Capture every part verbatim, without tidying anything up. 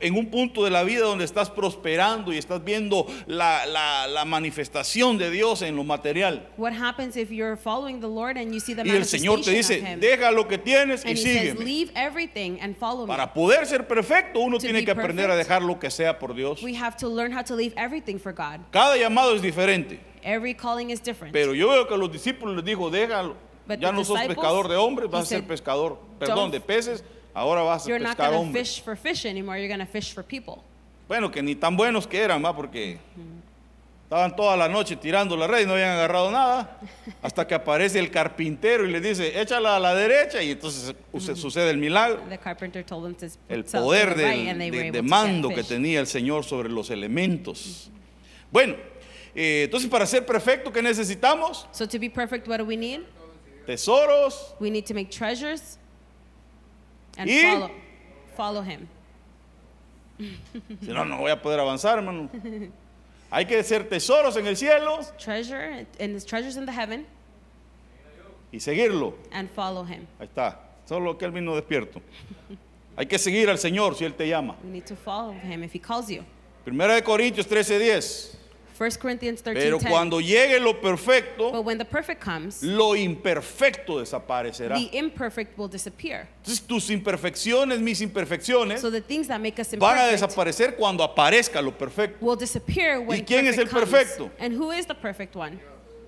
en un punto de la vida donde estás prosperando y estás viendo la, la, la manifestación de Dios en lo material. What happens if you're following the Lord and you see the Y el Señor te manifestation dice, of Him? deja lo que tienes y And He says, sígueme. leave everything and follow me. Para poder ser perfecto, uno To tiene be que aprender a perfect, dejar lo que sea por Dios. We have to learn how to leave everything for God. Cada llamado es diferente. Every calling is different. Pero yo veo que a los discípulos les dijo, déjalo. But Ya the no sos disciples, pescador de hombres, he vas a ser said, pescador, perdón, "Don't- de peces, ahora vas a You're not pescar going to hombres. fish for fish anymore. You're going to fish for people. Bueno, que ni tan buenos que eran, ¿va? Porque estaban toda la noche tirando la red y no habían agarrado nada, hasta que aparece el carpintero y les dice, échala a la derecha, y entonces su- sucede el milagro. The carpenter told them to El put south to poder the right, del- and they were de, able de to mando get que fish. tenía el Señor sobre los elementos. Bueno, eh, entonces para ser perfecto, ¿qué necesitamos? So to be perfect, what do we need? Tesoros. We need to make treasures and Y- follow, follow Him. Si no, no voy a poder avanzar, hermano. Hay que ser tesoros en el cielo Treasure and His treasures in the heaven y seguirlo. and follow Him. Ahí está, solo que él vino despierto. Hay que seguir al Señor si Él te llama. We need to follow Him if He calls you. Primera de Corintios trece diez. First Corinthians thirteen Pero ten. cuando llegue lo perfecto, But when the perfect comes, lo imperfecto desaparecerá. the imperfect will disappear. Entonces tus imperfecciones, mis imperfecciones, So the things that make us van a imperfect desaparecer cuando aparezca lo perfecto. will disappear when ¿Y quién es perfect el comes. perfecto? And who is the perfect one?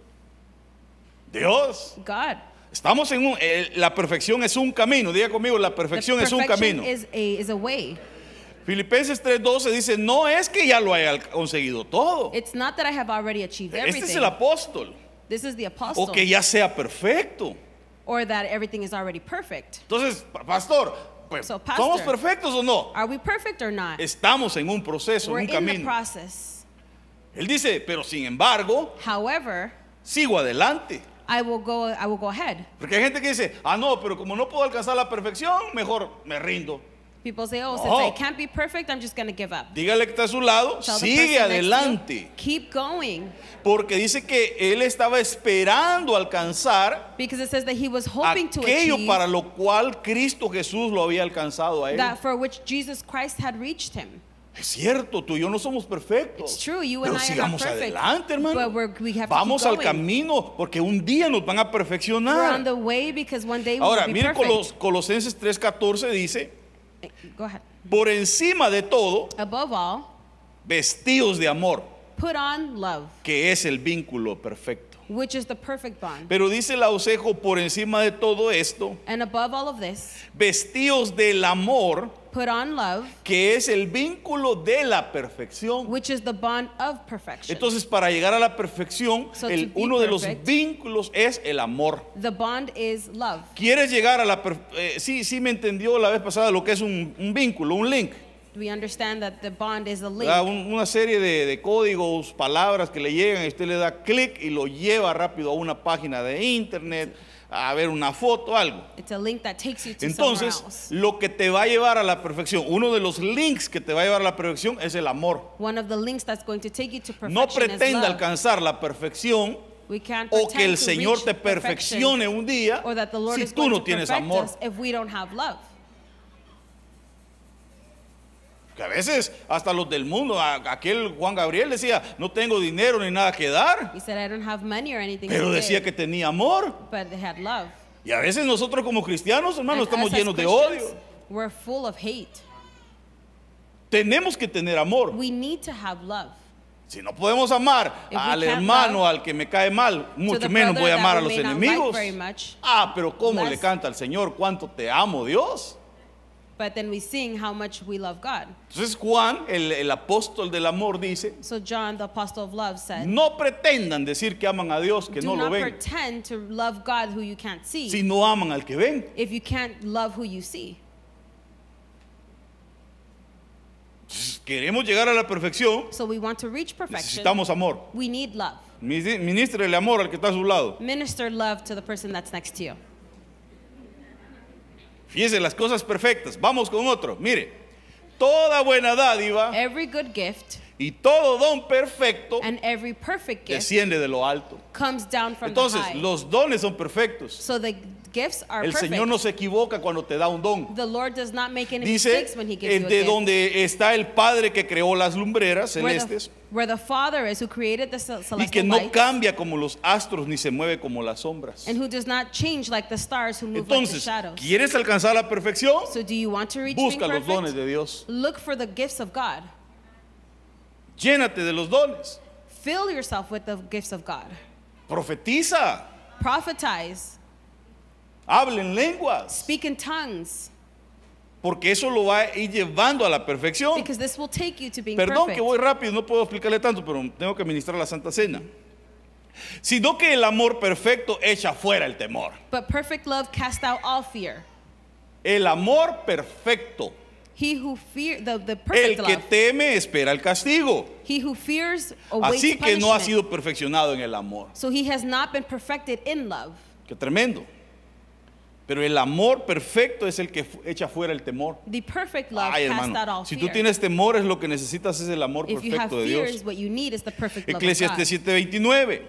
Dios. God. Estamos en un, eh, la perfección es un camino. Diga conmigo, la The perfección es un perfection camino. is a, is a way. Filipenses tres doce dice, no es que ya lo haya conseguido todo. It's not that I have already achieved Este es everything. el apóstol. This is the apostle. O que ya sea perfecto. Or that everything is already perfect. Entonces, pa- pastor, pues, So, pastor, ¿somos perfectos o no? Are we perfect or not? Estamos en un proceso, We're en un in the camino. process. Él dice, pero sin embargo, However, sigo adelante. I will go I will go ahead. Porque hay gente que dice, ah, no, pero como no puedo alcanzar la perfección, mejor me rindo. People say, oh, No. since I can't be perfect, I'm just going to give up. Dígale que está a su lado, Tell the sigue person next to you, adelante. keep going. Porque dice que él estaba esperando alcanzar Because it says that he was hoping to aquello achieve para lo cual Cristo Jesús lo había alcanzado a él. that for which Jesus Christ had reached him. Es cierto, tú y yo no somos perfectos. It's true, you Pero and I are not sigamos perfect. adelante, hermano. But we're, we have Vamos to al keep going. camino, porque un día nos van a We're on perfeccionar. the way because one day we Ahora, will be mire perfect. Colos- Colosenses tres catorce dice, Go ahead. por encima de todo, Above all, vestidos de amor, put on love, que es el vínculo perfecto. which is the perfect bond. Pero dice el ausejo, por encima de todo esto, And above all of this, vestidos del amor, put on love, que es el vínculo de la perfección. which is the bond of perfection. Entonces, para llegar a la perfección, So to el, be uno de los perfect, vínculos es el amor. The bond is love. ¿Quieres llegar a la per- eh, sí, sí me entendió la vez pasada lo que es un, un vínculo, un link? We understand that the bond is a link. ¿Verdad? Un- una serie de, de códigos, palabras que le llegan y usted le da clic y lo lleva rápido a una página de internet, a ver una foto, algo. It's a link that takes you to Entonces, somewhere else. lo que te va a llevar a la perfección, uno de los links que te va a llevar a la perfección es el amor. One of the links that's going to take you to perfection No is pretenda love. alcanzar la perfección We can't o pretend que el to Señor reach te perfection perfeccione un día or that the Lord si is tú going no to tienes perfect amor. us if we don't have love. Que a veces hasta los del mundo, a- aquel Juan Gabriel decía, no tengo dinero ni nada que dar, He said, I don't have money or anything pero to decía give, que tenía amor. but they had love. Y a veces nosotros como cristianos, hermanos, And estamos us as llenos de Christians, odio. we're full of hate. Tenemos que tener amor. We need to have love. Si no podemos amar If we al can't hermano, love al que me cae mal, To mucho the menos brother voy a amar that a we los may not like enemigos. very much, Ah, pero cómo le less. canta al Señor, cuánto te amo, Dios. but then we sing how much we love God. Entonces Juan, el, el apóstol del amor, dice, So John, the apostle of love, said, no pretendan decir que aman a Dios, que do no lo not ven, pretend to love God who you can't see si no aman al que ven. if you can't love who you see. Queremos llegar a la perfección, So we want to reach perfection. necesitamos amor. We need love. Ministre el amor al que está a su lado. Minister love to the person that's next to you. Fíjese las cosas perfectas. Vamos con otro. Mire, toda buena dádiva Every good gift y todo don perfecto and every perfect gift desciende de lo alto. comes down from Entonces, the high. los dones son perfectos. So the Gifts are El perfect. Señor no se equivoca cuando te da un don. The Lord does not make any Dice, mistakes when He gives eh, you a de gift. donde está el Padre que creó las lumbreras Where celestes the, where the Father is who created the ce- y celestial que no lights, cambia como los astros ni se mueve como las sombras. and who does not change like the stars who move like the Entonces, shadows. ¿quieres alcanzar la perfección? So do you want to reach being Busca los dones perfect? de Dios. Look for the gifts of God. Llénate de los dones. Fill yourself with the gifts of God. Profetiza. Prophetize. Habla en lenguas. Speak in tongues. Porque eso lo va a ir llevando a la perfección. Because this will take you to being Perdón perfect. que voy rápido, no puedo explicarle tanto, pero tengo que ministrar la Santa Cena. Sino que el amor perfecto echa fuera el temor. But perfect love casts out all fear. El amor perfecto. He who fear the, the El perfect que love. teme espera el castigo. He who fears awaits Así que no ha punishment. sido perfeccionado en el amor. So he has not been perfected in love. Qué tremendo. Pero el amor perfecto es el que fu- echa fuera el temor. The perfect love Ay, casts out hermano, all si tú fear. tienes temores, lo que necesitas es el amor If you have perfecto de fears, Dios. what you need is the perfect love of Eclesiastes God. siete veintinueve.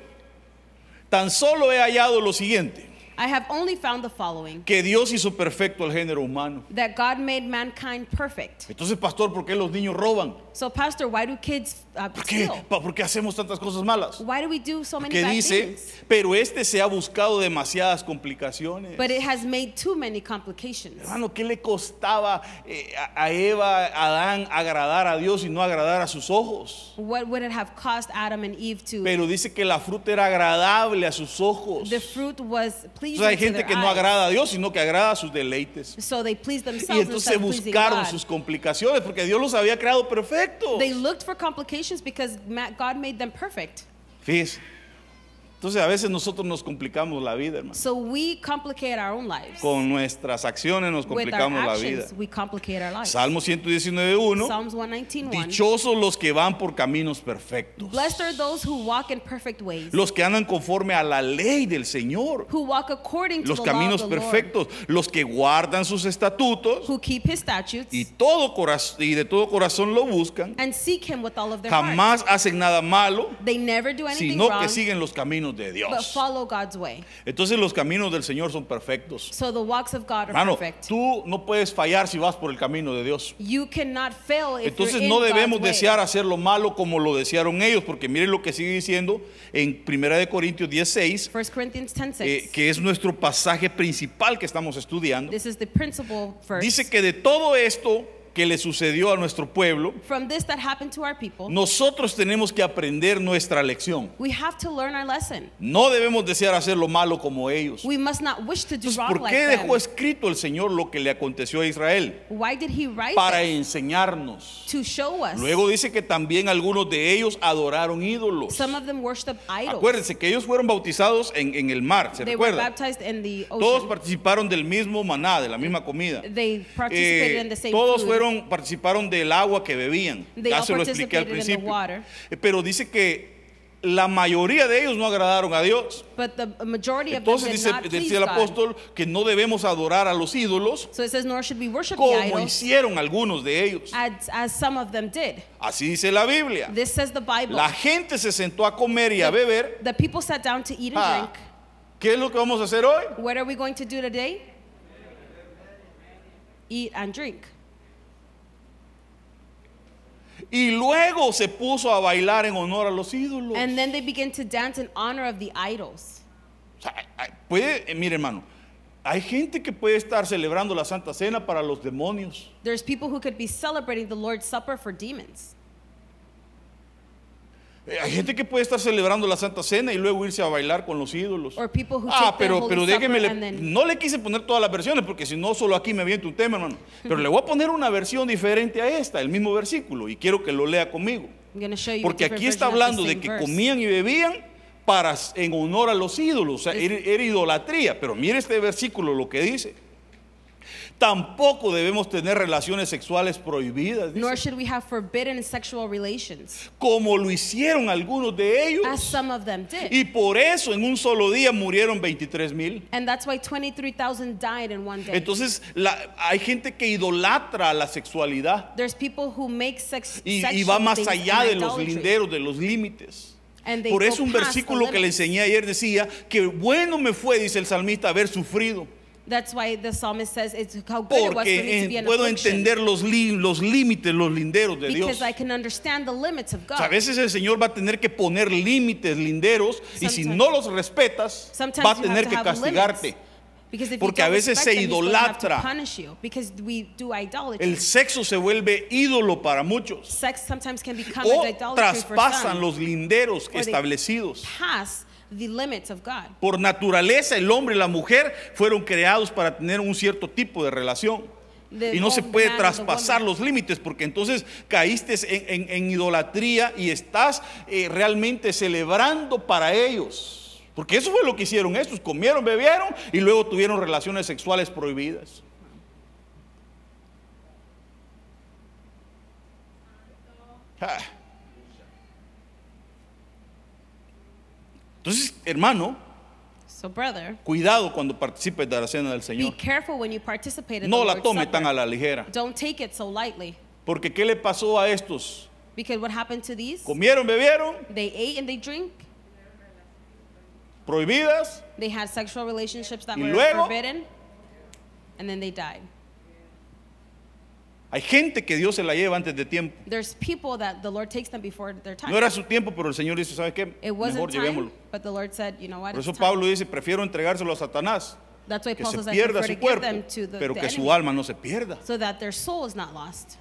Tan solo he hallado lo siguiente, I have only found the following, que Dios hizo perfecto al género humano. that God made mankind perfect. Entonces, pastor, ¿por qué los niños roban? So, Pastor, why do kids uh, ¿Por qué? steal? Pa- ¿Por qué hacemos tantas cosas malas? Why do we do so many Que bad dice, things? pero este se ha buscado demasiadas complicaciones. But it has made too many complications. Hermano, ¿qué le costaba eh, a a Eva, a Adán, agradar a Dios y no agradar a sus ojos? What would it have cost Adam and Eve to? Pero dice que la fruta era agradable a sus ojos. The fruit was O pleasing sea, hay to gente their que no eyes. agrada a Dios, sino que agrada a sus deleites. So they pleased Y themselves entonces instead of pleasing buscaron God. sus complicaciones porque Dios los había creado perfectos. They looked for complications because ma- God made them perfect. Fíjese. Entonces a veces nosotros nos complicamos la vida, hermano. So we complicate our own lives. Con nuestras acciones nos With our complicamos la vida. actions, we complicate our lives. Salmo ciento diecinueve uno. Psalms one nineteen, one. Dichosos los que van por caminos perfectos. Blessed are those who walk in perfect ways, Los que andan conforme a la ley del Señor. who walk according to Los the law caminos of the Lord, perfectos. Los que guardan sus estatutos who keep His statutes y, todo coraz- y de todo corazón lo buscan. and seek Him with all of their heart. Jamás hacen nada malo, They never do anything sino wrong, que siguen los caminos de but Dios. follow God's way. Entonces los caminos del Señor son perfectos. So the walks of God are Hermano, perfect. tú no puedes fallar si vas por el camino de Dios. You cannot fail if Entonces you're in no debemos God's way. desear hacer lo malo como lo desearon ellos, porque miren lo que sigue diciendo en primera de Corintios diez seis, First Corinthians ten six. eh, que es nuestro pasaje principal que estamos estudiando. This is the principal verse. Dice que de todo esto que le sucedió a nuestro pueblo, From this that happened to our people, nosotros tenemos que aprender nuestra lección. we have to learn our lesson. No debemos desear hacer lo malo como ellos. We must not wish to do Entonces, wrong ¿por like qué them. dejó escrito el Señor lo que le aconteció a Israel? Why did He write Para this? enseñarnos. To show us. Luego dice que también algunos de ellos adoraron ídolos. Some of them worship idols. Acuérdense que ellos fueron bautizados en, en el mar, ¿se They were recuerda? baptized in the Todos ocean. participaron del mismo maná, de la misma comida. They participated Eh, in the same todos food. fueron, participaron del agua que bebían. They Ya all se lo expliqué al participated in the principio. water. Eh, Pero dice que la mayoría de ellos no agradaron a Dios. But the majority of them Entonces did dice, not please dice el God. apóstol que no debemos adorar a los ídolos So it says, nor should we worship the como idols hicieron algunos de ellos. as, as some of them did. Así dice la Biblia. This says the Bible. La gente se sentó a comer y a beber. The people sat down to eat and Ah, drink. ¿Qué es lo que vamos a hacer hoy? What are we going to do today? Eat and drink. Y luego se puso a bailar en honor a los ídolos. And then they begin to dance in honor of the idols. O sea, hay- puede, eh, mire hermano, hay gente que puede estar celebrando la Santa Cena para los demonios. There's people who could be celebrating the Lord's Supper for demons. Eh, Hay gente que puede estar celebrando la Santa Cena y luego irse a bailar con los ídolos. Or people who Ah, take the pero, Holy pero Supper déjeme, le- and then- no le quise poner todas las versiones porque si no solo aquí me aviento un tema, hermano. Pero le voy a poner una versión diferente a esta, el mismo versículo, y quiero que lo lea conmigo. I'm going to show you a Porque different aquí está version of the hablando de same que verse. comían y bebían para, en honor a los ídolos, o sea, era, era idolatría. Pero mire este versículo lo que dice. Tampoco debemos tener relaciones sexuales prohibidas, dice, Nor should we have forbidden sexual relations, como lo hicieron algunos de ellos. as some of them did. Y por eso en un solo día murieron veintitrés mil. And that's why twenty-three thousand died in one day. Entonces la- hay gente que idolatra a la sexualidad There's people who make sex y, y sexual va más things allá an de los idolatry. linderos, de los límites. And they Por go eso un past the versículo que le limits. enseñé ayer decía que bueno me fue, dice el salmista, haber sufrido. That's why the psalmist says it's how good it was for me Porque to be eh, in puedo affliction. entender los, li- los límites, los linderos de Dios. Because I can understand the limits of O sea, a God. veces el Señor va a tener que poner límites, linderos, y si Sometimes- no los respetas, Sometimes va a you tener have to que have castigarte. limits. Because if Porque you a don't veces respect se them, he's going to have to idolatra. punish you. Because we do idolatry. El sexo se vuelve ídolo para muchos. Sex sometimes can become O an idolatry for traspasan some. los linderos Or they establecidos. pass the limits of God. Por naturaleza, el hombre y la mujer fueron creados para tener un cierto tipo de relación. The Y no se old puede man and the traspasar woman. los límites, porque entonces caíste en, en- en idolatría y estás eh, realmente celebrando para ellos. Porque eso fue lo que hicieron estos: comieron, bebieron y luego tuvieron relaciones sexuales prohibidas. Ah. Entonces, hermano, So, brother, cuidado cuando participes de la cena del be Señor. careful when you participate in No the la Lord's tome Supper. tan a la ligera. Don't take it so lightly. Porque ¿qué le pasó a estos? Because what happened to these? Comieron, bebieron, They ate and they drink. prohibidas, They had sexual relationships that Y were luego- forbidden. And then they died. hay gente que Dios se la lleva antes de tiempo. There's people that the Lord takes them before their time. No era su tiempo, pero el Señor dice, ¿sabe qué? It wasn't Mejor time, llevémoslo. but the Lord said, you know what? Por It's eso time. Pablo dice, prefiero entregárselo a Satanás, That's why que Paul se says, I pierda prefer su to give cuerpo, them to the, pero the que su enemy, alma no se pierda. so that their soul is not lost.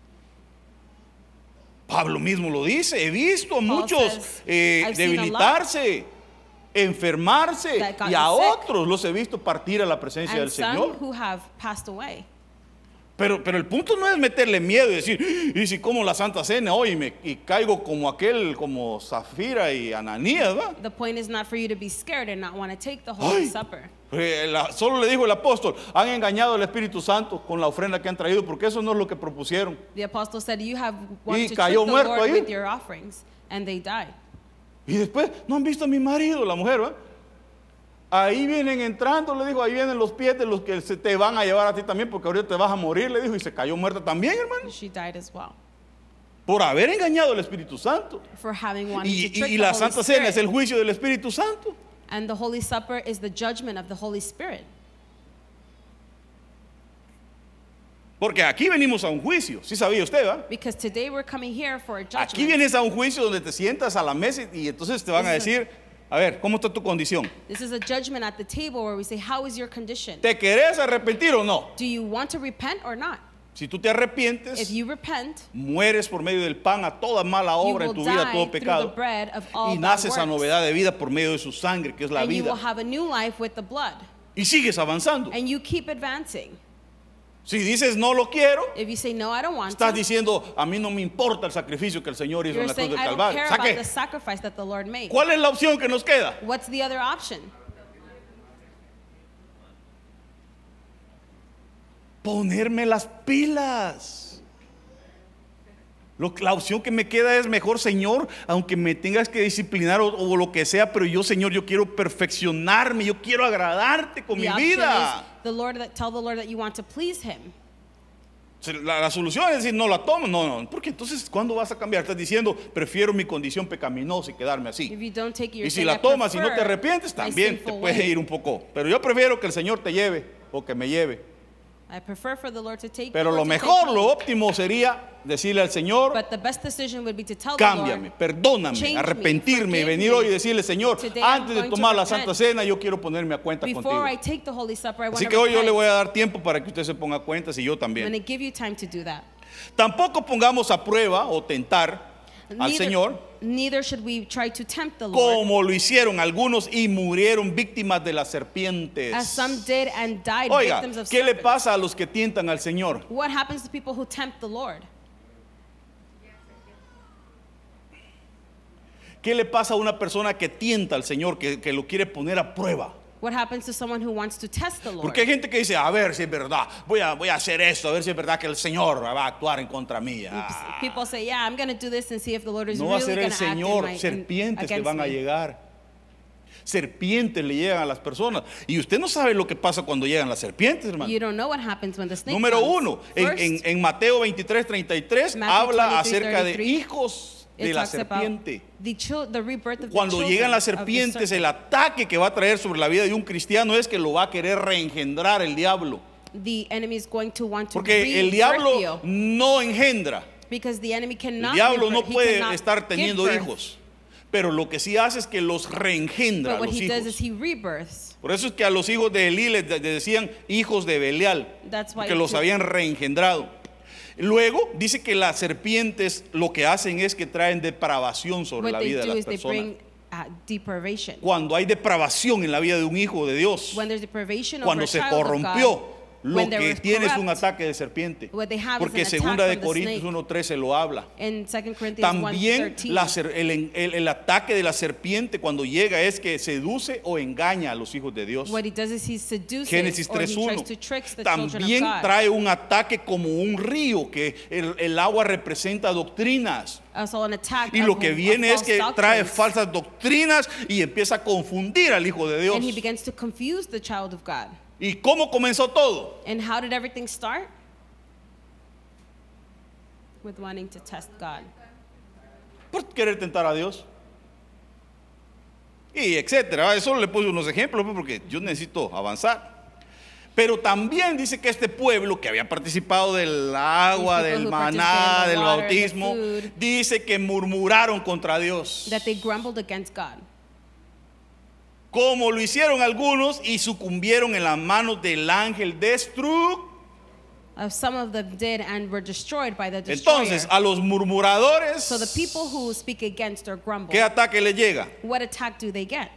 Pablo mismo lo dice, he visto a Paul muchos says, eh, "I've seen a lot debilitarse, enfermarse, that got y a sick, otros los he visto partir a la presencia del And some Señor. who have passed away. Pero, pero el punto no es meterle miedo y decir, y si como la Santa Cena hoy y, me, y caigo como aquel, como Zafira y Ananías, ¿va? The point is not for you to be scared and not want to take the Holy Ay, Supper. eh, la- solo le dijo el apóstol, han engañado al Espíritu Santo con la ofrenda que han traído, porque eso no es lo que propusieron. The apostle said, you have wanted to trick cayó the muerto Lord ahí. with your offerings. And they died. Y después, no han visto a mi marido, la mujer, ¿va? Ahí vienen entrando, le dijo, ahí vienen los pies de los que se te van a llevar a ti también, porque ahorita te vas a morir, le dijo, y se cayó muerta también, hermano, She died as well. por haber engañado al Espíritu Santo. For having wanted Y, to trick y- y the la Holy Santa Cena es Spirit. el juicio del Espíritu Santo. And the Holy Supper is the judgment of the Holy Spirit. Porque aquí venimos a un juicio, ¿sí sabía usted, va? Because today we're coming here for a judgment. Aquí vienes a un juicio donde te sientas a la mesa y, y entonces te van a decir, a ver, ¿cómo está tu condición? This is a judgment at the table where we say, how is your condition? ¿Te querés arrepentir o no? Do you want to repent or not? Si tú te If arrepientes, you repent, mueres por medio del pan a toda mala you obra en will tu vida, die todo through the pecado, bread of all y bad naces a works. novedad de vida por medio de su sangre, que es la And you will vida, have a new life with the blood. y sigues avanzando. And you keep advancing. Si dices no lo quiero, If you say, no, I don't want estás to, diciendo, a mí no me importa el sacrificio que el Señor hizo en you're la cruz saying, del I don't Calvario. care ¿Sabe about qué? the sacrifice that the Lord made. ¿Cuál es la opción que nos queda? What's the other option? Ponerme las pilas. Lo- la opción que me queda es mejor, Señor, aunque me tengas que disciplinar o, o lo que sea, pero yo, Señor, yo quiero perfeccionarme, yo quiero agradarte con The mi option vida. is the Lord that tell the Lord that you want to please Him. Se- La, la solución es decir, no la tomo, no, no, porque entonces, ¿cuándo vas a cambiar? Estás diciendo, prefiero mi condición pecaminosa y quedarme así. If you don't take your Y si sin, la I tomas y no te prefer arrepientes, my también te sinful puede way. ir un poco. Pero yo prefiero que el Señor te lleve o que me lleve. I prefer for the Lord to take Pero the lo Lord to take mejor, me. lo óptimo sería decirle al Señor, But the best decision would be to tell cámbiame, the Lord, perdóname, change me, arrepentirme y forgive venir me. hoy y decirle, Señor, Today I'm antes de going to tomar la repent. Santa Cena, yo quiero ponerme a cuenta before contigo. I take the Holy Supper, I want Así to que hoy yo repent. le voy a dar tiempo para que usted se ponga a cuentas y yo I'm también. going to give you time to do that. Tampoco pongamos a prueba o tentar al Neither, Señor neither should we try to tempt the Lord, como lo hicieron algunos y murieron víctimas de las serpientes. as some did and died Oiga, victims of ¿qué le serpents. pasa a los que tientan al Señor? What happens to people who tempt the Lord? ¿Qué le pasa a una persona que tienta al Señor, que, que lo quiere poner a prueba? What happens to someone who wants to test the Lord? Porque hay gente que dice, a ver si es verdad, voy a, voy a hacer esto, a ver si es verdad que el Señor va a actuar en contra mía. Ah, People say, yeah, I'm going to do this and see if the Lord is no va a really ser going el to act in Señor, my, in, serpientes que against van a me. llegar. Serpientes le llegan a las personas. Y usted no sabe lo que pasa cuando llegan las serpientes, hermano. You don't know what happens when the snake Número comes. uno, en, First, en- en Mateo veintitrés, treinta y tres Matthew habla twenty-three, acerca de thirty-three. hijos de It la talks about serpiente. the, chil- the rebirth of Cuando the llegan children las of the serpientes, serpent. el ataque que va a traer sobre la vida de un cristiano es que lo va a querer reengendrar el diablo. The enemy is going to want to Porque el rebirth diablo you, no engendra. because the enemy El cannot diablo no rebirth- he puede cannot estar give teniendo birth. hijos. Pero lo que sí hace es que los reengendra But a what los he does is hijos. he rebirths. Por eso es que a los hijos de Elí les de- decían hijos de Belial, That's why que los to- habían reengendrado. Luego dice que las serpientes lo que hacen es que traen depravación sobre What la they vida de do las is they personas. bring uh, deprivation. Cuando hay depravación en la vida de un hijo de Dios, When there's deprivation over cuando a se child of corrompió, God, lo when they que were tiene es un corrupt, ataque de serpiente. what they have is Porque an attack segunda de from the Corintios snake. uno trece lo habla. In Second Corinthians También one thirteen, la ser- el, el- el ataque de la serpiente cuando llega es que seduce o engaña a los hijos de Dios. what he does is he seduces Génesis or he tres tries uno. to trick the children También of God. trae un ataque como un río, que el, el agua representa doctrinas. Also an attack Y of lo que of viene es false que trae doctrines. falsas doctrinas y empieza a confundir al hijo de Dios. And he begins to confuse the child of God. ¿Y cómo comenzó todo? And how did everything start? With wanting to test God. Por querer tentar a Dios. Y etcétera. Solo le puse unos ejemplos pues, porque yo necesito avanzar. Pero también dice que este pueblo que había participado del agua, These people del who maná, participated in the del water, bautismo, the food, dice que murmuraron contra Dios. That they grumbled against God. Como lo hicieron algunos y sucumbieron en las manos del ángel destructor. Uh, some of them did and were destroyed by the destroyer. Entonces, a los murmuradores, So the people who speak against or grumble, ¿qué ataque les llega? what attack do they get?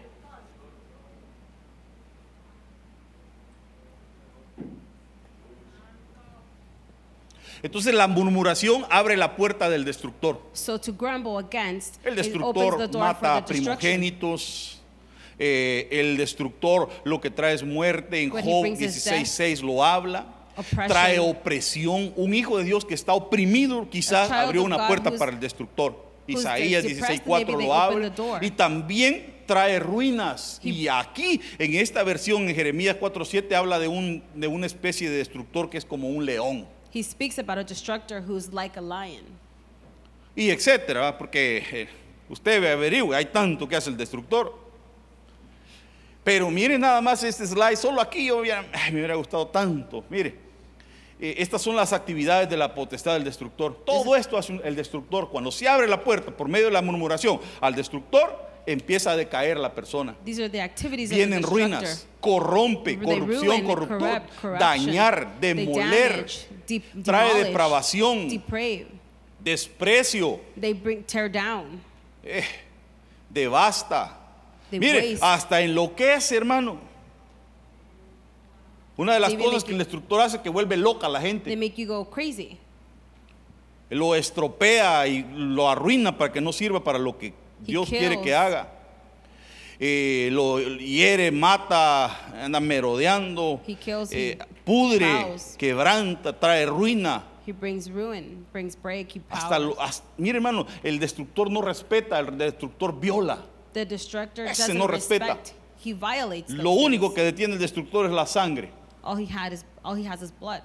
Entonces la murmuración abre la puerta del destructor. So to grumble against, El it opens destructor the door mata for a the destruction. primogénitos. Eh, el destructor lo que trae es muerte. En What he Job brings is dieciséis seis lo habla. oppression. Trae opresión. Un hijo de Dios que está oprimido quizás A child abrió of una God puerta who's- para el destructor. who's Isaías depressed, dieciséis cuatro maybe they lo open habla. the door. Y también trae ruinas. He- Y aquí en esta versión en Jeremías cuatro siete habla de, un, de una especie de destructor que es como un león. He speaks about a destructor who's like a lion. Y etcétera, ¿va? Porque eh, usted averigüe, hay tanto que hace el destructor. Pero mire nada más este slide, solo aquí yo hubiera- ay, me hubiera gustado tanto. Mire, eh, estas son las actividades de la potestad del destructor. Todo esto hace un- el destructor. Cuando se abre la puerta por medio de la murmuración al destructor, empieza a decaer la persona. These are the activities Vienen of the destructor. ruinas, corrompe, They corrupción, ruin, corruptor, corrupt, corruption. dañar, They demoler, damage, de- trae demolish, depravación, deprave. desprecio, They bring tear down. eh, devasta. They Mire, waste. hasta enloquece, hermano. Una de las They cosas make que you- el destructor hace es que vuelve loca a la They gente. make you go crazy. Lo estropea y lo arruina para que no sirva para lo que Dios quiere kills. que haga. Eh, lo hiere, mata, anda merodeando, He kills, eh, he pudre, bows. quebranta, trae ruina. He brings ruin, brings break, he Hasta, powers. lo, hasta- mire, hermano, el destructor no respeta, el destructor viola. The destructor Ese doesn't no respeta. respect. He violates those Lo único things. que detiene el destructor es la sangre. all he had is all he has is blood.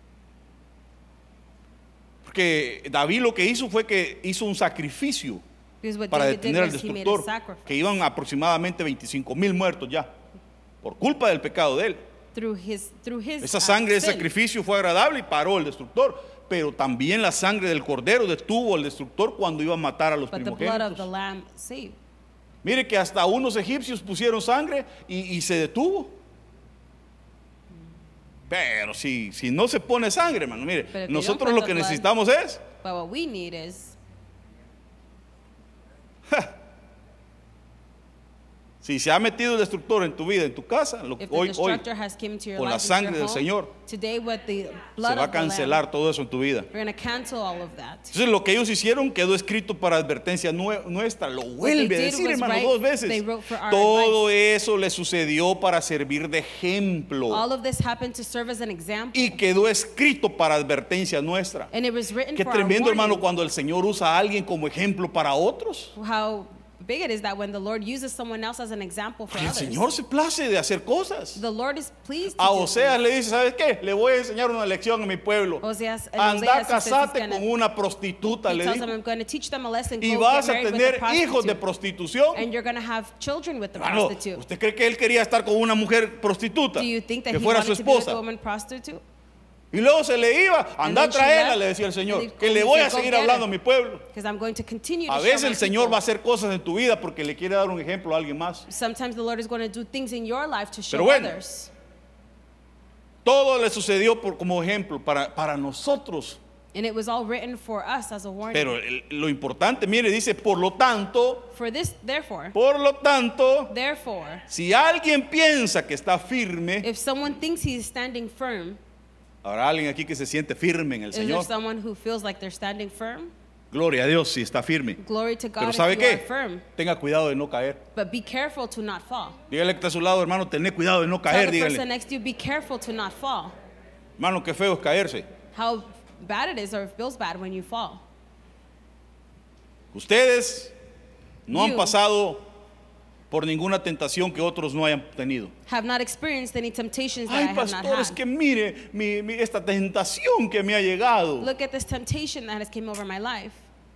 Porque David lo que hizo fue que hizo un sacrificio Because what para David did detener al was he made a destructor, sacrifice. que iban aproximadamente veinticinco mil muertos ya, por culpa del pecado de él. Through his through his Esa uh, sangre de sin. sacrificio fue agradable y paró el destructor, pero también la sangre del cordero detuvo al destructor cuando iba a matar a los But the blood of the primogénitos. lamb saved. Mire que hasta unos egipcios pusieron sangre y, y se detuvo. Pero si, si no se pone sangre, hermano, mire, Pero que nosotros don't lo put que the blood. necesitamos es But what we need is si se ha metido el destructor en tu vida, en tu casa, lo, if the hoy, hoy destructor has come to your con la life, into sangre your del home, Señor, today with the se blood va a of the lamb, cancelar todo eso en tu vida. we're going to cancel all of that. Entonces lo que ellos hicieron quedó escrito para advertencia nue- nuestra. Lo vuelve a did decir, was hermano, write- dos they veces. wrote for our Todo eso le sucedió para servir de ejemplo. All of this happened to serve as an example. Y quedó escrito para advertencia nuestra. And it was written Qué for tremendo, our hermano, warning. cuando el Señor usa a alguien como ejemplo para otros. How big it is that when the Lord uses someone else as an example for El others, Señor se place de hacer cosas. the Lord is pleased to A do Oseas things. le dice, ¿sabes qué? Le voy a enseñar una lección a mi pueblo. Oseas, en Anda, Oseas, he says he's casate gonna- con una prostituta, He le tells them, dijo. I'm going to teach them a lesson. Y Go vas get a married with a tener hijos de prostitute. prostitución. And you're going to have children with the Hermano, prostitute. ¿usted cree que él quería estar con una mujer prostituta? Do you think that Que he fuera wanted su to be with a esposa. woman prostitute? Y luego se le iba, And anda a then she traerla, left, le decía el and Señor, he- que le he voy said, a "Go seguir get hablando a her." mi pueblo. Because I'm going to continue to A show veces my el Señor people. va a hacer cosas en tu vida porque le quiere dar un ejemplo a alguien más. Sometimes the Lord is going to do things in your life to show Pero bueno, others. Todo le sucedió por, como ejemplo para, para nosotros. And it was all written for us as a warning. Pero el- lo importante, mire, dice, por lo tanto, For this, therefore, por lo tanto, therefore, si alguien piensa que está firme, if someone thinks he's standing firm, habrá alguien aquí que se siente firme en el is there Señor. someone who feels like they're standing firm? Gloria a Dios si está firme. Glory to God Pero if ¿sabe you are qué? firm. Tenga cuidado de no caer. But be careful to not fall. Dígale que está a su lado, hermano, tené cuidado de no Tell caer, the person dígale. next to you, be careful to not fall. Hermano, qué feo es caerse. How bad it is or it feels bad when you fall. Ustedes no han You- pasado por ninguna tentación que otros no hayan tenido. Have not experienced any temptations that I Ay, have not pastores, had. que mire mi- mi- esta tentación que me ha llegado. Look at this temptation that has came over my life.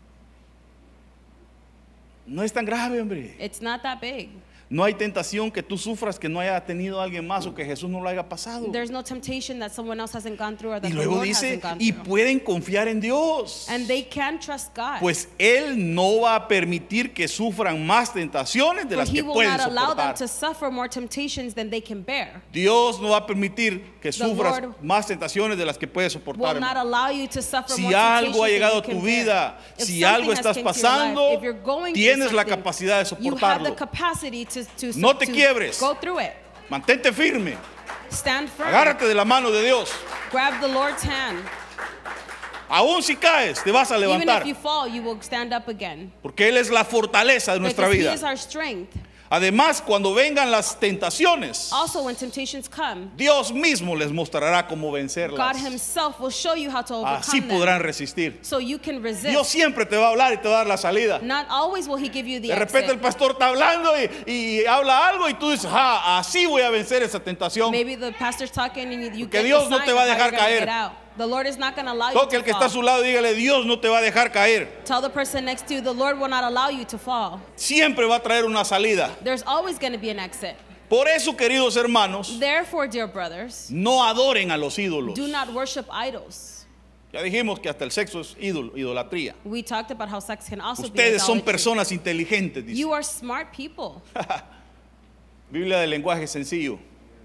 No es tan grave, hombre. It's not that big. No hay tentación que tú sufras que no haya tenido alguien más o que Jesús no lo haya pasado. There's no temptation that someone else hasn't gone through or that Y the luego Lord dice, hasn't gone y through. pueden confiar en Dios. And they can trust God. Pues Él no va a permitir que sufran más tentaciones de For las he que will pueden not allow them soportar. to suffer more temptations than they can bear. Dios no va a permitir que sufras Lord más tentaciones de las que puedes Will soportar. not hermano. allow you to suffer Si more algo ha temptations llegado a than you tu can vida, bear. If si something algo has estás came to your life, pasando, if you're going through tienes la something, capacidad de you have the soportarlo. capacity to, to, No te to quiebres. go through it. Mantente firme. Stand firm. Agárrate de la mano de Dios. Grab the Lord's hand. Aún si caes, te vas a Even levantar. if you fall, you will stand up again. Porque Él es la fortaleza de nuestra Because vida. He is our strength. Además, cuando vengan las tentaciones, Also, when temptations come, Dios mismo les mostrará cómo vencerlas. God Himself will show you how to Así overcome podrán them. resistir. So you can resist. Dios siempre te va a hablar y te va a dar la salida. Not always will He give you the De repente el exit. pastor está hablando y, y habla algo y tú dices, ah, así voy a vencer esa tentación. Maybe the pastor's talking and you, you Porque get Dios the no sign te va a of how dejar you're gonna caer. get out. The Lord is not going to allow you Toque to el que está a fall. su lado y dígale, Dios no te va a dejar caer. Tell the person next to you, the Lord will not allow you to fall. Siempre va a traer una salida. There's always going to be an exit. Por eso, queridos hermanos, Therefore, dear brothers, no adoren a los ídolos. do not worship idols. Ya dijimos que hasta el sexo es ídolo, idolatría. We talked about how sex can also be Ustedes son idolatry. personas inteligentes, dice. You are smart people. Biblia de lenguaje sencillo.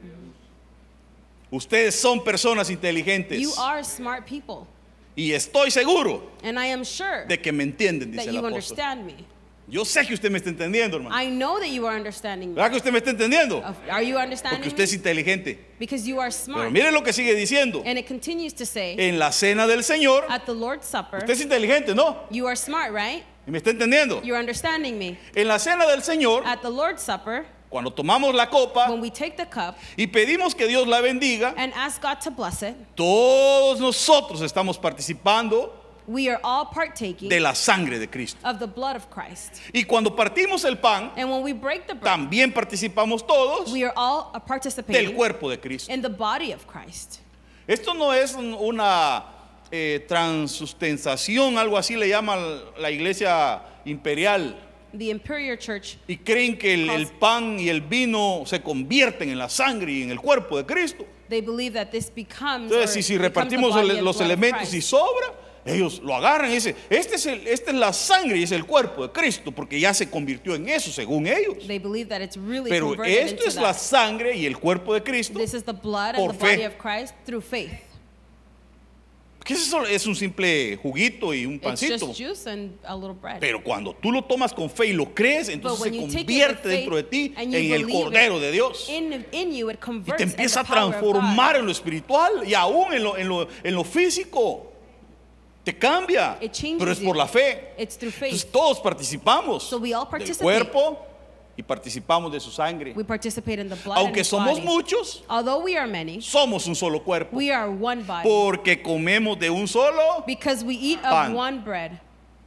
Ustedes son personas inteligentes. You are smart people. Y estoy seguro And I am sure de que me entienden, dice that el you apóstol. understand me. Yo sé que usted me está entendiendo, hermano. I know that you are understanding me. ¿Verdad que usted me está entendiendo? Of- Are you Porque understanding usted es me? inteligente. Because you are Pero smart. mire lo que sigue diciendo. And it continues to say, En la cena del Señor, at the Lord's Supper, usted es inteligente, ¿no? you are smart, right? ¿Y me está entendiendo? You're understanding me. En la cena del Señor, At the Lord's Supper, cuando tomamos la copa when we take the cup y pedimos que Dios la bendiga, and ask God to bless it, todos nosotros estamos participando we are all partaking de la sangre de Cristo. of the blood of Christ. Y cuando partimos el pan, And when we break the bread, también participamos todos we are all del participating cuerpo de Cristo. in the body of Christ. Esto no es un- una eh, transustanciación, algo así le llama la iglesia imperial. The Imperial Church, Y creen que el, el pan y el vino se convierten en la sangre y en el cuerpo de Cristo. they believe that this becomes, Entonces, or si, si becomes the repartimos body el- and los blood of elementos y Christ. sobra, ellos lo agarran y dicen, este es el, esta es la sangre y es el cuerpo de Cristo, porque ya se convirtió en eso, según ellos. They believe that it's really Pero converted esto into es la that. sangre y el cuerpo de Cristo. This is the blood por and the body fe. of Christ through faith. ¿Qué es eso? Es un simple juguito y un It's pancito. just juice and a little bread. Pero cuando tú lo tomas con fe y lo crees, But entonces when se you take it with convierte faith dentro de ti and you en el believe Cordero it, de Dios. in, in you it Y converts te in the empieza a power of transformar God. en lo espiritual y aún en lo, en lo, en lo físico. Te cambia. It changes Pero es you. por la fe. It's through faith. Entonces todos participamos So we all del participate. cuerpo y participamos de su sangre. We participate in the blood and Aunque his somos body. muchos, Although we are many, somos un solo cuerpo. we are one body. Porque comemos de un solo. Because we eat of Pan. one bread.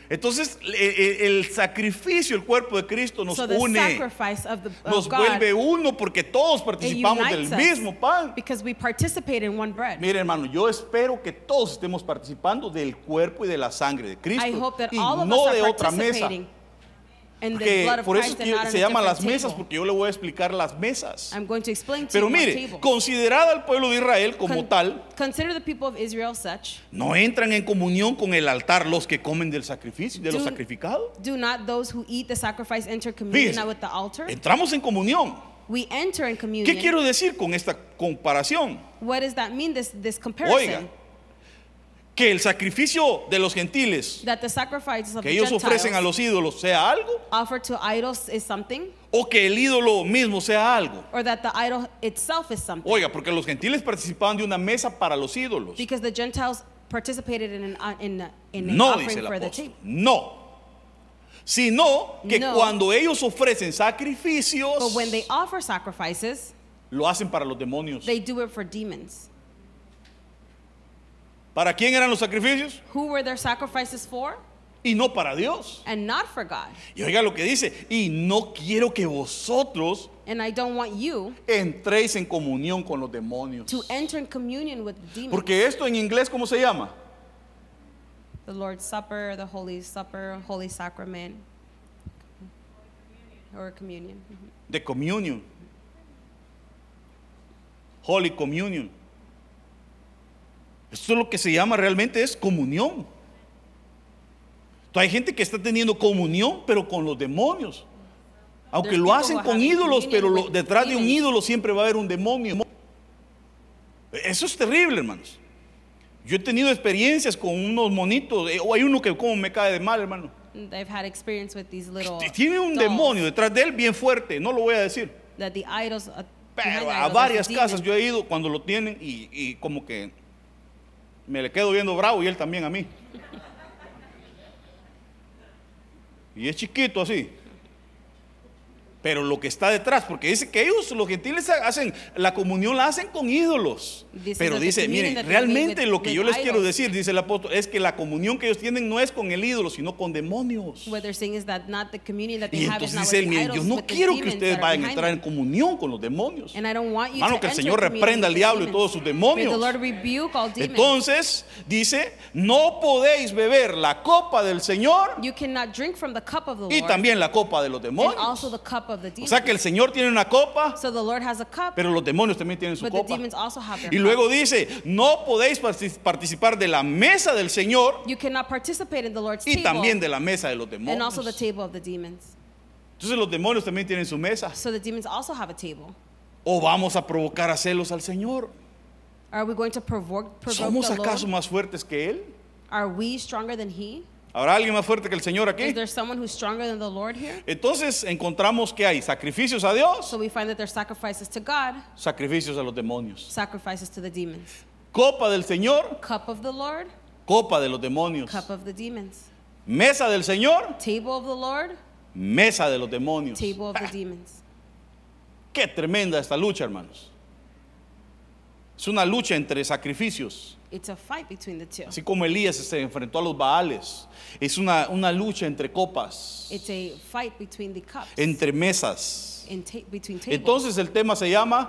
Entonces el, el sacrificio, el cuerpo de Cristo nos So the une, sacrifice of, the, nos of God, vuelve uno porque todos it participamos del unites us mismo pan. because we participate in one bread. Mire, hermano, yo espero que todos estemos participando del cuerpo y de la sangre de I Cristo hope that y all of no us de are otra mesa. participating in the Que blood of por eso es Christ and que not se on a llaman las different mesas, table. porque yo le voy a explicar las mesas. I'm going to explain to Pero you what mire, table. considerada al pueblo de Israel como Con- tal, Consider the people of Israel such. no entran en comunión con el altar los que comen del sacrificio, de lo Do- sacrificado. Do not those who eat the sacrifice enter communion Fíjese, with the altar? entramos en comunión. We enter in communion. ¿Qué quiero decir con esta comparación? What does that mean, this, this comparison? Oiga, que el sacrificio de los gentiles That the sacrifices of que the ellos Gentiles ofrecen a los ídolos sea algo, offered to idols is something, o que el ídolo mismo sea algo. or that the idol itself is something. Oiga, porque los gentiles participaban de una mesa para los ídolos. Because the Gentiles participated in an, uh, in, uh, in an No, dice offering el for the apóstol. table. No. Sino que No. cuando ellos ofrecen sacrificios, But when they offer sacrifices, lo hacen para los demonios. they do it for demons. ¿Para quién eran los sacrificios? Who were their sacrifices for? Y no para Dios. And not for God. Y oiga lo que dice, y no quiero que vosotros And I don't want you entréis en comunión con los demonios. to enter in communion with the demons. Porque esto en inglés, ¿cómo se llama? The Lord's Supper, the Holy Supper, Holy Sacrament, or communion. Mhm. The communion. Holy Communion. Esto es lo que se llama realmente es comunión. Entonces, hay gente que está teniendo comunión, pero con los demonios. Aunque There's lo people hacen who con have ídolos, communion pero lo- with detrás de un demons. ídolo siempre va a haber un demonio. Eso es terrible, hermanos. Yo he tenido experiencias con unos monitos, eh, o hay uno que como me cae de mal, hermano. They've had experience with these little Tiene un dolls demonio detrás de él bien fuerte, no lo voy a decir. that the idols uh, Pero behind the a idol, varias there's a casas demon. yo he ido cuando lo tienen y, y como que me le quedo viendo bravo y él también a mí. Y es chiquito así. Pero lo que está detrás, porque dice que ellos, los gentiles, hacen la comunión, la hacen con ídolos. This Pero is the dice, communion miren, that they made realmente with- lo que with yo les quiero idols. decir, dice el apóstol, es que la comunión que ellos tienen no es con el ídolo, sino con demonios. What they're saying is that not the communion that they Y have is entonces not dice with él, the miren, yo idols, no with the quiero que demons ustedes that are vayan a behind entrar them. en comunión con los demonios. And I don't want you Hermano, to que el enter Señor communion reprenda al with the diablo y demons. todos sus May demonios. the Lord rebuke all demons. Entonces, dice, no podéis beber la copa del Señor You cannot drink from the cup of the y Lord también la copa de los and demonios. also the cup of the O demons. sea que el Señor tiene una copa, So the Lord has a cup, pero los demonios también tienen su but the copa. demons also have their Y cup. luego dice, no podéis partic- participar de la mesa del Señor You cannot participate in the Lord's y table también de la mesa de los and also the demonios. table of the demons. Entonces los demonios también tienen su mesa. So the demons also have a table. ¿O vamos a provocar a celos al Señor? Are we going to provoke, provoke ¿Somos the acaso Lord? más fuertes que Él? Are we stronger than He? ¿Habrá alguien más fuerte que el Señor Is aquí? there someone who's stronger than the Lord here? Entonces encontramos que hay sacrificios a Dios, So we find that there's sacrifices to God, sacrificios a los demonios. sacrifices to the demons. Copa del Señor, Cup of the Lord, copa de los demonios. cup of the demons. Mesa del Señor, Table of the Lord, mesa de los demonios. table of the demons. Qué tremenda esta lucha, hermanos. Es una lucha entre sacrificios. It's a fight between the two. Así como Elías se enfrentó a los Baales. Es una, una lucha entre copas, It's a fight between the cups, entre mesas. in ta- between tables. Entonces el tema se llama,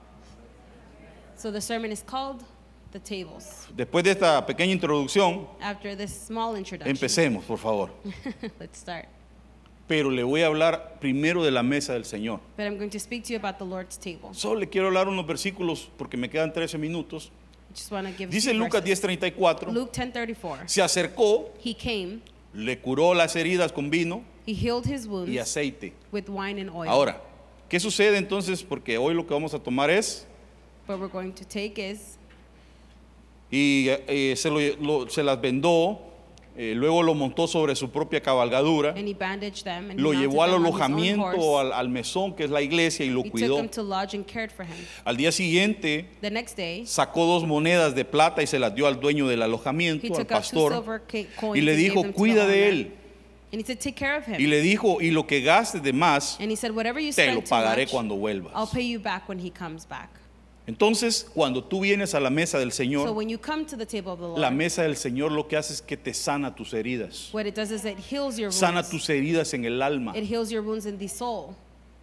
So the sermon is called The Tables. después de esta pequeña introducción, After this small introduction, empecemos, por favor. let's start. Pero le voy a hablar primero de la mesa del Señor. But I'm going to speak to you about the Lord's table. Solo le quiero hablar unos versículos porque me quedan trece minutos. I just want to give Dice two Lucas diez verses. treinta y cuatro, Luke ten thirty-four. se acercó, He came, le curó las heridas con vino he healed his wounds y aceite. with wine and oil. Ahora, ¿qué sucede entonces? Porque hoy lo que vamos a tomar es, What we're going to take is, y eh, se, lo- lo- se las vendó, eh, luego lo montó sobre su propia cabalgadura, and he bandaged them, and lo he mounted llevó al them on his own alojamiento, horse. al, al mesón que es la iglesia y lo He took cuidó. him to lodge and cared for him. Al día siguiente The next day, sacó dos monedas de plata y se las dio al dueño del he alojamiento, al took out two pastor, silver ca- coins y le and gave dijo, them to the cuida de owner. él. And he said, take care of him. Y le dijo, y lo que gastes de más, And he said, whatever you te spend lo too pagaré much, cuando I'll vuelvas. pay you back when he comes back. Entonces, cuando tú vienes a la mesa del So Señor, when you come to the table of the Lord, la mesa del Señor lo que hace es que te sana tus heridas. what it does is it heals your Sana wounds. tus heridas en el alma. It heals your wounds in the soul.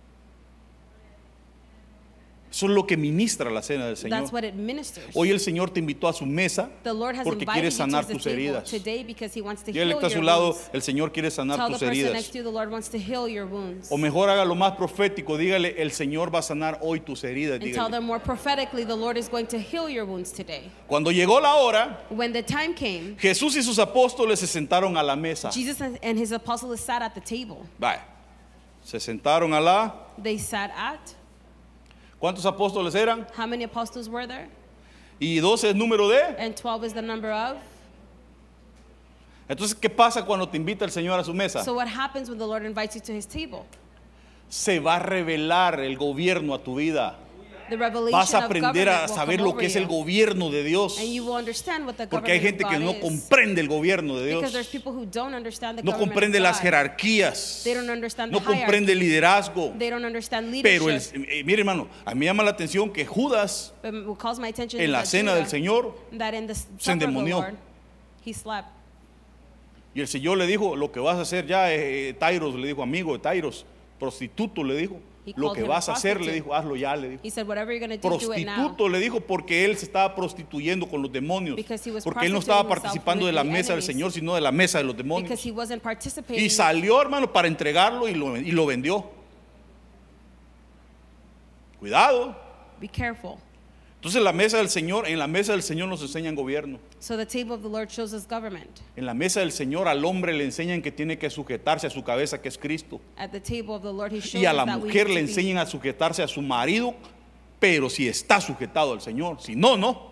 Eso es lo que ministra la cena del Señor. That's what it ministers. Hoy el Señor te invitó a su mesa The Lord has porque invited quiere you to sanar the tus table heridas. today because He wants to Dígale heal que está a su your lado, wounds. el Señor quiere sanar Tell the tus person heridas. next to you, the Lord wants to heal your wounds. O mejor haga lo más profético, dígale, el Señor va a sanar hoy tus heridas. And tell Dígale. them more prophetically, the Lord is going to heal your wounds today. Cuando llegó la hora, When the time came, Jesús y sus apóstoles se sentaron a la mesa. Jesus and His apostles sat at the table. Vaya, se sentaron a la... They sat at, ¿Cuántos apóstoles eran? how many apostles were there? Y doce es número de... And twelve is the number of. Entonces, ¿qué pasa cuando te invita el Señor a su mesa? So what happens when the Lord invites you to His table? Se va a revelar el gobierno a tu vida. The revelation Vas a of aprender government a will saber come lo over que es you. el gobierno de Dios. And you will understand what the Porque hay government gente of que God no is. comprende el gobierno de Because Dios. there's people who don't understand the No government comprende of las God. jerarquías. They don't understand No the comprende el liderazgo. They don't understand Pero, el, leadership. eh, mire hermano, a mí me llama la atención que Judas But what calls my attention en is la that cena del Judah, Señor that in the se supper of the endemonió. Lord, he slept. y el Señor le dijo, lo que vas a hacer ya, eh, Tairos, le dijo, amigo de Tairos, prostituto, le dijo, He lo called que him a vas a hacer, le prostitute. dijo, hazlo ya, le dijo. He said, whatever you're going to do, do it now. Prostituto, le dijo, porque él se estaba prostituyendo con los demonios. Because he was Porque él no estaba prostituting himself participando de with la the mesa del enemies. Señor, sino de la mesa de los Because demonios. he wasn't participating. Y salió, hermano, para entregarlo y lo, y lo vendió. Cuidado. Be careful. Entonces la mesa del Señor, en la mesa del Señor nos enseñan gobierno. So the table of the Lord shows us government. En la mesa del Señor al hombre le enseñan que tiene que sujetarse a su cabeza, que es Cristo. At the table of the Lord, He shows Y a us la that we mujer need le to be- enseñan a sujetarse a su marido, pero si está sujetado al Señor. Si no, no.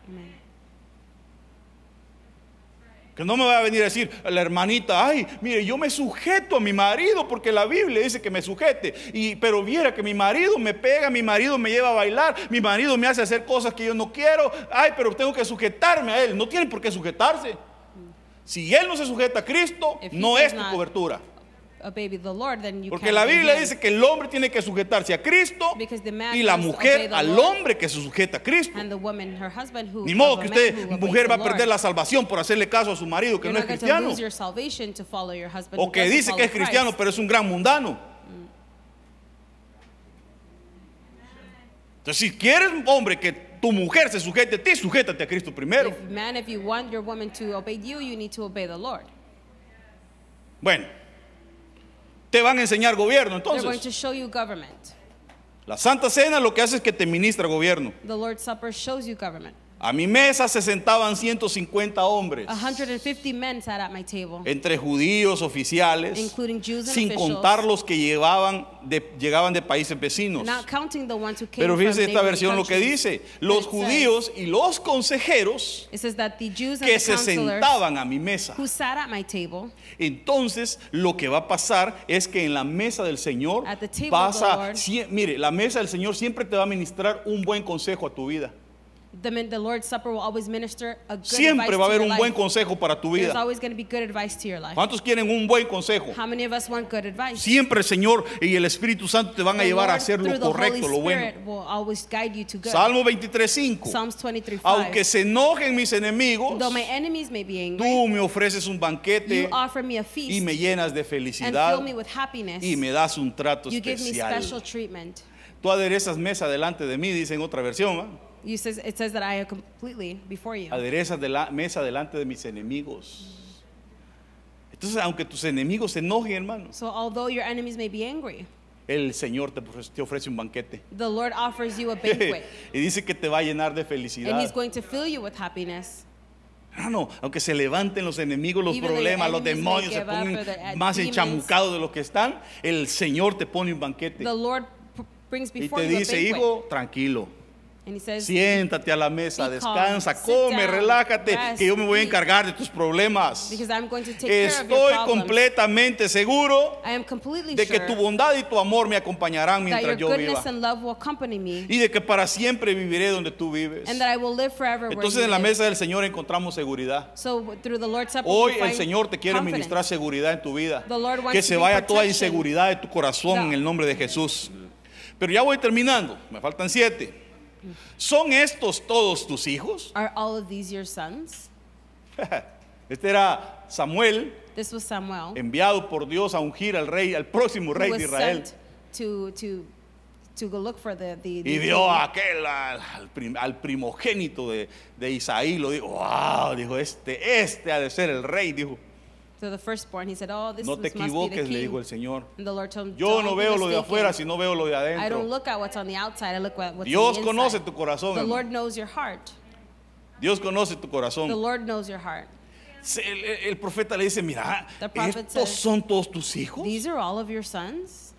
Que no me va a venir a decir la hermanita, ay, mire, yo me sujeto a mi marido porque la Biblia dice que me sujete. Y, pero viera que mi marido me pega, mi marido me lleva a bailar, mi marido me hace hacer cosas que yo no quiero. Ay, pero tengo que sujetarme a él. No tienen por qué sujetarse. Si él no se sujeta a Cristo, If he no does es tu not cobertura. obey the Lord, then you Porque can't la obey Biblia him. dice que el hombre tiene que sujetarse a Cristo Because the man y la must obey mujer the al Lord, hombre que se sujeta a Cristo. and the woman, her husband, who Ni modo of que a man usted, who obeys mujer, the va a perder Lord. la salvación por hacerle caso a su marido que You're no es not going to cristiano. lose your salvation to follow your husband O who que doesn't dice que es follow cristiano, Christ. pero es un gran mundano. Entonces, si quieres, hombre, que tu mujer se sujete a ti, sujétate a Cristo primero. If, man, if you want your woman to obey you, you need to obey the Lord. Bueno, te van a enseñar gobierno. They're going to Entonces, show you government. la Santa Cena lo que hace es que te ministra gobierno. The Lord's Supper shows you government. A mi mesa se sentaban ciento cincuenta hombres, one hundred fifty men sat at my table, entre judíos, oficiales, including Jews and sin officials, contar los que llevaban de, llegaban de países vecinos. not counting the ones who came Pero from fíjese esta neighboring versión lo que countries. dice, But los it says- judíos y los consejeros It says that the Jews and que the se counselors sentaban a mi mesa. who sat at my table, Entonces, lo que va a pasar es que en la mesa del Señor At the table vas of the a, Lord, sie- mire, la mesa del Señor siempre te va a ministrar un buen consejo a tu vida. the, min- the Lord's Supper will always minister a good Siempre advice va a to haber your un buen life. consejo para tu There's vida. always going to be good advice to your life. ¿Cuántos quieren un buen consejo? How many of us want good advice? Siempre el Señor y el Espíritu Santo te van a The llevar a Lord, hacer lo through the correcto, Holy lo bueno. Spirit will always guide you to good. Salmo veintitrés cinco. Psalms twenty-three five. Aunque se enojen mis enemigos, Though my enemies may be angry, tú me ofreces un you banquete offer me a y feast me llenas de and felicidad fill me with happiness. y me das un trato You give me especial. special treatment. Tú aderezas mesa delante de mí, dice en otra versión, ¿va? You says, it says that I am completely before you. Aderezas de la mesa delante de mis enemigos. Entonces, aunque tus enemigos se enojen, hermano, So although your enemies may be angry, el Señor te ofrece, te ofrece un banquete. the Lord offers you a banquet. Y dice que te va a llenar de And felicidad. He's going to fill you with happiness. Hermano, aunque se levanten los enemigos, los Even though your problemas, los enemies may demonios se give up pongan or the, uh, más demons, enchamucados de lo que están, el Señor te pone un banquete. The Lord p- brings Y before te you a dice, banquet. hijo, tranquilo. And He says, Siéntate a la mesa, Be calm, descansa, sit come, down, relájate, rest, que yo me voy a eat. encargar de tus problemas. because I'm going to take care of your Estoy problems. completamente seguro I am completely de que sure tu bondad y tu amor me acompañarán that your mientras yo goodness viva. and love will accompany me, Y de que para siempre viviré donde tú vives. and that I will live forever Entonces where en you la live. mesa del Señor encontramos seguridad. So through the Lord's Supper, Hoy we el find Señor te quiere confidence. ministrar seguridad en tu vida. The Lord wants Que to se bring vaya toda protection. inseguridad de tu corazón No. en el nombre de Jesús. Pero ya voy terminando, me faltan siete. ¿son estos todos tus hijos? Are all of these your sons? Este era Samuel, This was Samuel, enviado por Dios a ungir al rey, al próximo who rey was de Israel. sent to to to go look for the the, the Y vio king. a aquel, al, al prim- al primogénito de, de Isaí, lo dijo, wow, dijo, este, este ha de ser el rey, dijo. So the firstborn, he said, "Oh, this, No te this must be the equivoques, king." le dijo el Señor. And the Lord told him, Yo "Don't no be veo lo de mistaken. afuera, sino veo lo de I don't adentro. look at what's on the outside. I look at what's Dios on the conoce inside." tu corazón, The hermano. Lord knows your heart. Dios conoce tu The corazón. Lord knows your heart. Se- El, el- el profeta le dice, mira, The prophet ¿estos says, son todos tus hijos? These are all of your sons?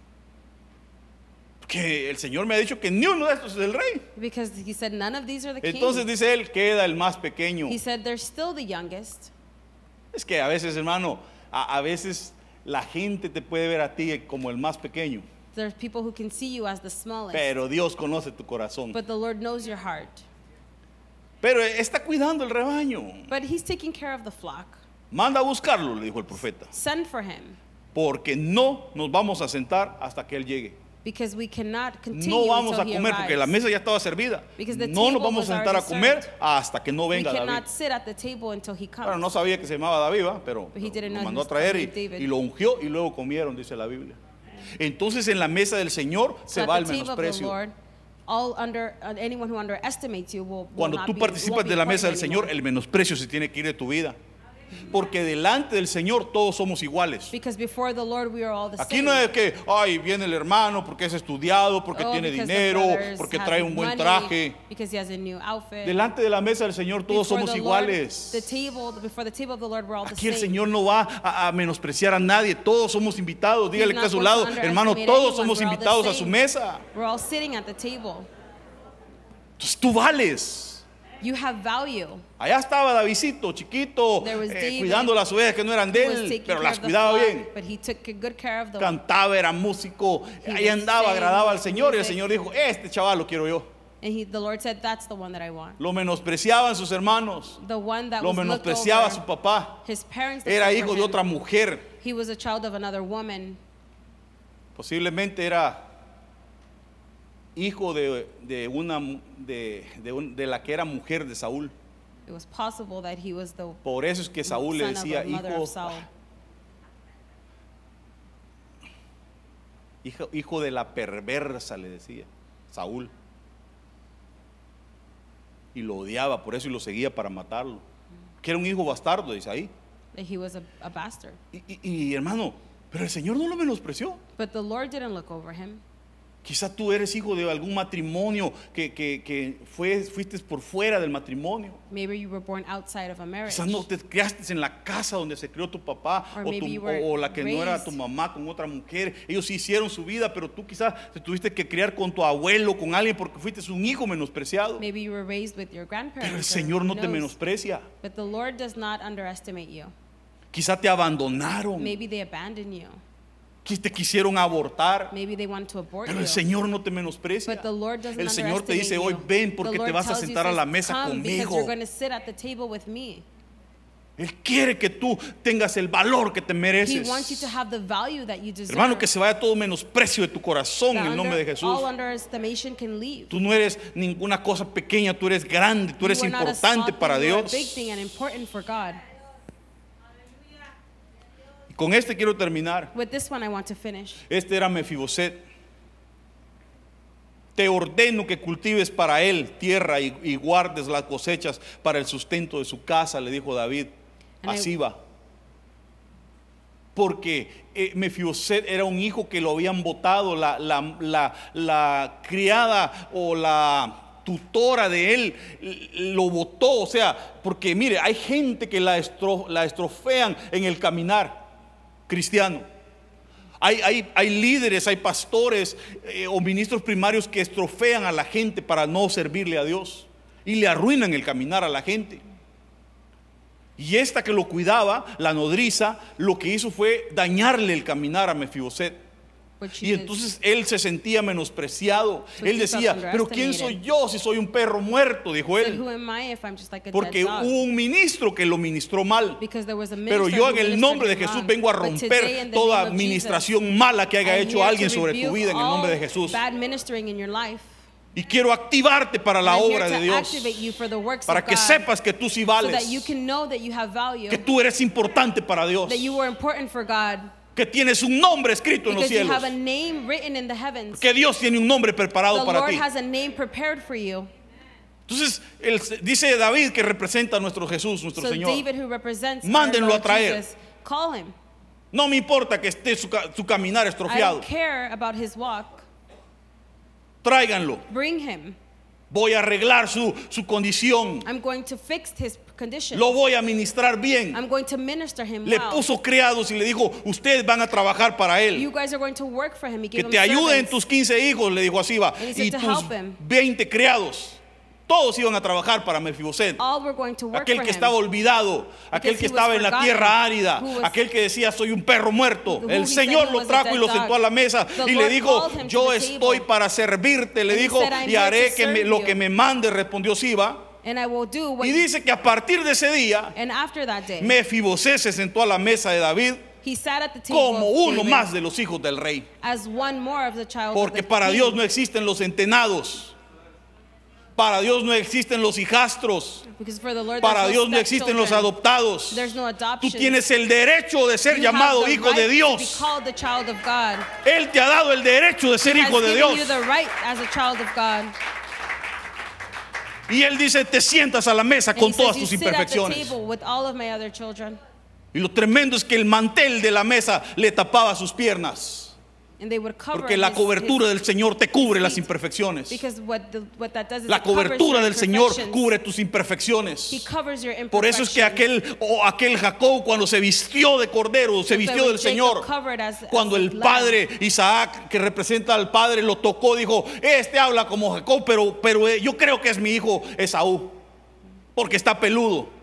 Que el Señor me ha dicho que ni uno de estos es el rey. Because he said, none of these are the Entonces kings. dice él, queda el más pequeño. He said, they're still the youngest. Es que a veces, hermano, a, a veces la gente te puede ver a ti como el más pequeño, There's people who can see you as the smallest. pero Dios conoce tu corazón. But the Lord knows your heart. Pero está cuidando el rebaño. But he's taking care of the flock. Manda a buscarlo, le dijo el profeta, Send for him. porque no nos vamos a sentar hasta que él llegue. Because we cannot continue No vamos until a he comer porque la arrives. mesa ya estaba servida. Because the No nos table vamos a was sentar a already comer served. hasta que no We venga David. cannot sit at the table until he comes. Bueno, no sabía que se llamaba David, ¿va? Pero But he didn't lo know mandó he a traer y, was David. y lo ungió y luego comieron, dice la Biblia. Entonces en la mesa del Señor So se at va the el table of the menosprecio. Lord, all under uh, anyone who underestimates you will, will Cuando not tú be, participas won't be de la mesa del important Señor, anymore. el menosprecio se tiene que ir de tu vida. Porque delante del Señor todos somos iguales. Because before the Lord we are all the Aquí same. no es que, ay, viene el hermano porque es estudiado, porque Oh, tiene because the dinero, brothers porque have trae un buen money, traje. Because he has a new outfit. Delante de la mesa del Señor todos Before somos the Lord, iguales. the table, before the table of the Lord, we're all Aquí the el same. Señor no va a, a menospreciar a nadie, todos somos invitados. Dígale que not está a su going lado, to hermano, underestimate todos anyone. somos We're all the invitados a su same. mesa. We're all sitting at the table. Entonces tú vales. You have value. Allá estaba Davidcito, chiquito, There was eh, David, cuidando las ovejas que no eran de He was él, taking pero care las of the cuidaba flock, bien. But he took good care of them. Cantaba, era músico, He ahí was andaba, singing agradaba al Señor y el music. Señor dijo, este chaval lo quiero yo. And he, the Lord said, that's the one that I want. Lo menospreciaban sus hermanos, The one that lo was looked menospreciaba over. su papá. His parents Era looked hijo over de him. otra mujer, He was a child of another woman. posiblemente era hijo de, de una de, de, un- de la que era mujer de Saúl. It was possible that he was the Por eso es que Saúl le son of decía, the mother hijo, of Saul. hijo, hijo de la perversa, le decía Saúl. Y lo odiaba por eso y lo seguía para matarlo. Que era un hijo bastardo de Isaí. That he was a, a bastard. Y, y- y, hermano, pero el Señor no lo menospreció. But the Lord didn't look over him. Quizá tú eres hijo de algún matrimonio que, que, que fue, fuiste por fuera del matrimonio. Maybe you were born outside of a marriage. Quizás no te criaste en la casa donde se crió tu papá Or o, maybe tu- you were o- o la que no era raised- tu mamá con otra mujer. Ellos sí hicieron su vida, pero tú quizás te tuviste que criar con tu abuelo, con alguien porque fuiste un hijo menospreciado. Maybe you were raised with your grandparents. Pero el or Señor no who te knows. menosprecia. But the Lord does not underestimate you. Quizá te abandonaron, Maybe they abandoned you. que te quisieron abortar. Maybe they want to abort Pero you. el Señor no te menosprecia. But the Lord doesn't El Señor te dice hoy, underestimate you. ven The porque te Lord vas a tells you, sentar a says, la mesa "Come, because conmigo. you're going to sit at the table with me." Él quiere que tú tengas el valor que te He mereces. wants you to have the value that you deserve. Hermano, que se vaya todo menosprecio de tu corazón en That el nombre de under- Jesús. all underestimation can leave. Tú no eres ninguna cosa pequeña, tú eres grande, tú eres You are not a small importante thing, para you are a Dios. big thing and important for God. Y con este quiero terminar. With this one, I want to finish. Este era Mefiboset. Te ordeno que cultives para él tierra y, y guardes las cosechas para el sustento de su casa, le dijo David And a I- Siba. Porque eh, Mefiboset era un hijo que lo habían botado, la, la, la, la criada o la tutora de él l- lo botó. O sea, porque mire, hay gente que la, estro, la estrofean en el caminar cristiano. Hay, hay, hay líderes, hay pastores eh, o ministros primarios que estrofean a la gente para no servirle a Dios y le arruinan el caminar a la gente. Y esta que lo cuidaba, la nodriza, lo que hizo fue dañarle el caminar a Mefiboset. What she Y did. entonces él se sentía menospreciado. So Él he felt decía, pero ¿quién soy underestimated. yo si soy un perro muerto? Dijo Said, él. who am I if I'm just like a Porque dead dog? hubo un ministro que lo ministró mal. Because there was a Pero minister yo who en el ministered nombre de him Jesús wrong. vengo a But today, in romper the toda name of administración Jesus, mala que haya I'm hecho here alguien to sobre tu rebuke vida en el nombre de all Jesús. bad ministering in your life. Y quiero activarte para la I'm here obra to de Dios, activate you for the works para of que God, sepas que tú sí so vales, that you can know that you have value, que tú eres importante para Dios, that you were important for God, que tienes un nombre escrito en los because you cielos, have a name written in the heavens. que Dios tiene un nombre preparado The para Lord ti. has a name prepared for you. Entonces, él, dice David, que representa a nuestro Jesús, nuestro So Señor. David, who represents our Mándenlo Lord a traer. Jesus, call him. No me importa que esté su, ca- su caminar I estropeado. don't care about his walk. Tráiganlo. Bring him. Voy a arreglar su, su condición. I'm going to fix his condition. Lo voy a ministrar bien. I'm going to minister him Le well. puso criados y le dijo, ustedes van a trabajar para él. You guys are going to work for him. He Que gave te him ayuden servants. tus quince hijos, le dijo así va. And he said Y to tus help him. veinte criados. Todos iban a trabajar para Mefiboset. All were going to work Aquel for que him. estaba olvidado, aquel que he was estaba en la forgotten, tierra árida, who was- aquel que decía soy un perro muerto. who El he said Señor he lo was a trajo y dead lo dog. sentó a la mesa The y le Lord dijo, called him to yo the estoy table. para servirte. Le And he dijo, said, "I'm y haré here to que me- serve lo you." que me mande, respondió Siba. And I will do what Y you, dice que a partir de ese día, and after that day, Mefiboset se sentó a la mesa de David he sat at the table como of uno David más de los hijos del rey. as one more of the child Porque of the para king. Dios no existen los entenados. Para Dios no existen los hijastros. Because for the Lord, Para there's Dios no no existen los stepchildren. adoptados. There's no Tú adoption. tienes el derecho de ser You have llamado the hijo right de to be Dios. called the child of God. Él te ha dado el derecho de ser He has hijo de given Dios. you the right as a child of God. Y Él dice, te sientas a la mesa And con he todas says, you tus sit at the imperfecciones. table with all of my other children. Y lo tremendo es que el mantel de la mesa le tapaba sus piernas. And they would cover Porque la his- cobertura his- del Señor te cubre las feet. imperfecciones. Because what, the, what that does is La it covers cobertura your del Señor imperfections. cubre tus imperfecciones. He covers your Por eso es que imperfections. aquel, o aquel Jacob, cuando se vistió de cordero, se That's vistió why del when Jacob Señor, covered as- as cuando el lamb, padre Isaac, que representa al padre, lo tocó, dijo, este habla como Jacob, pero, pero eh, yo creo que es mi hijo Esaú, porque está peludo.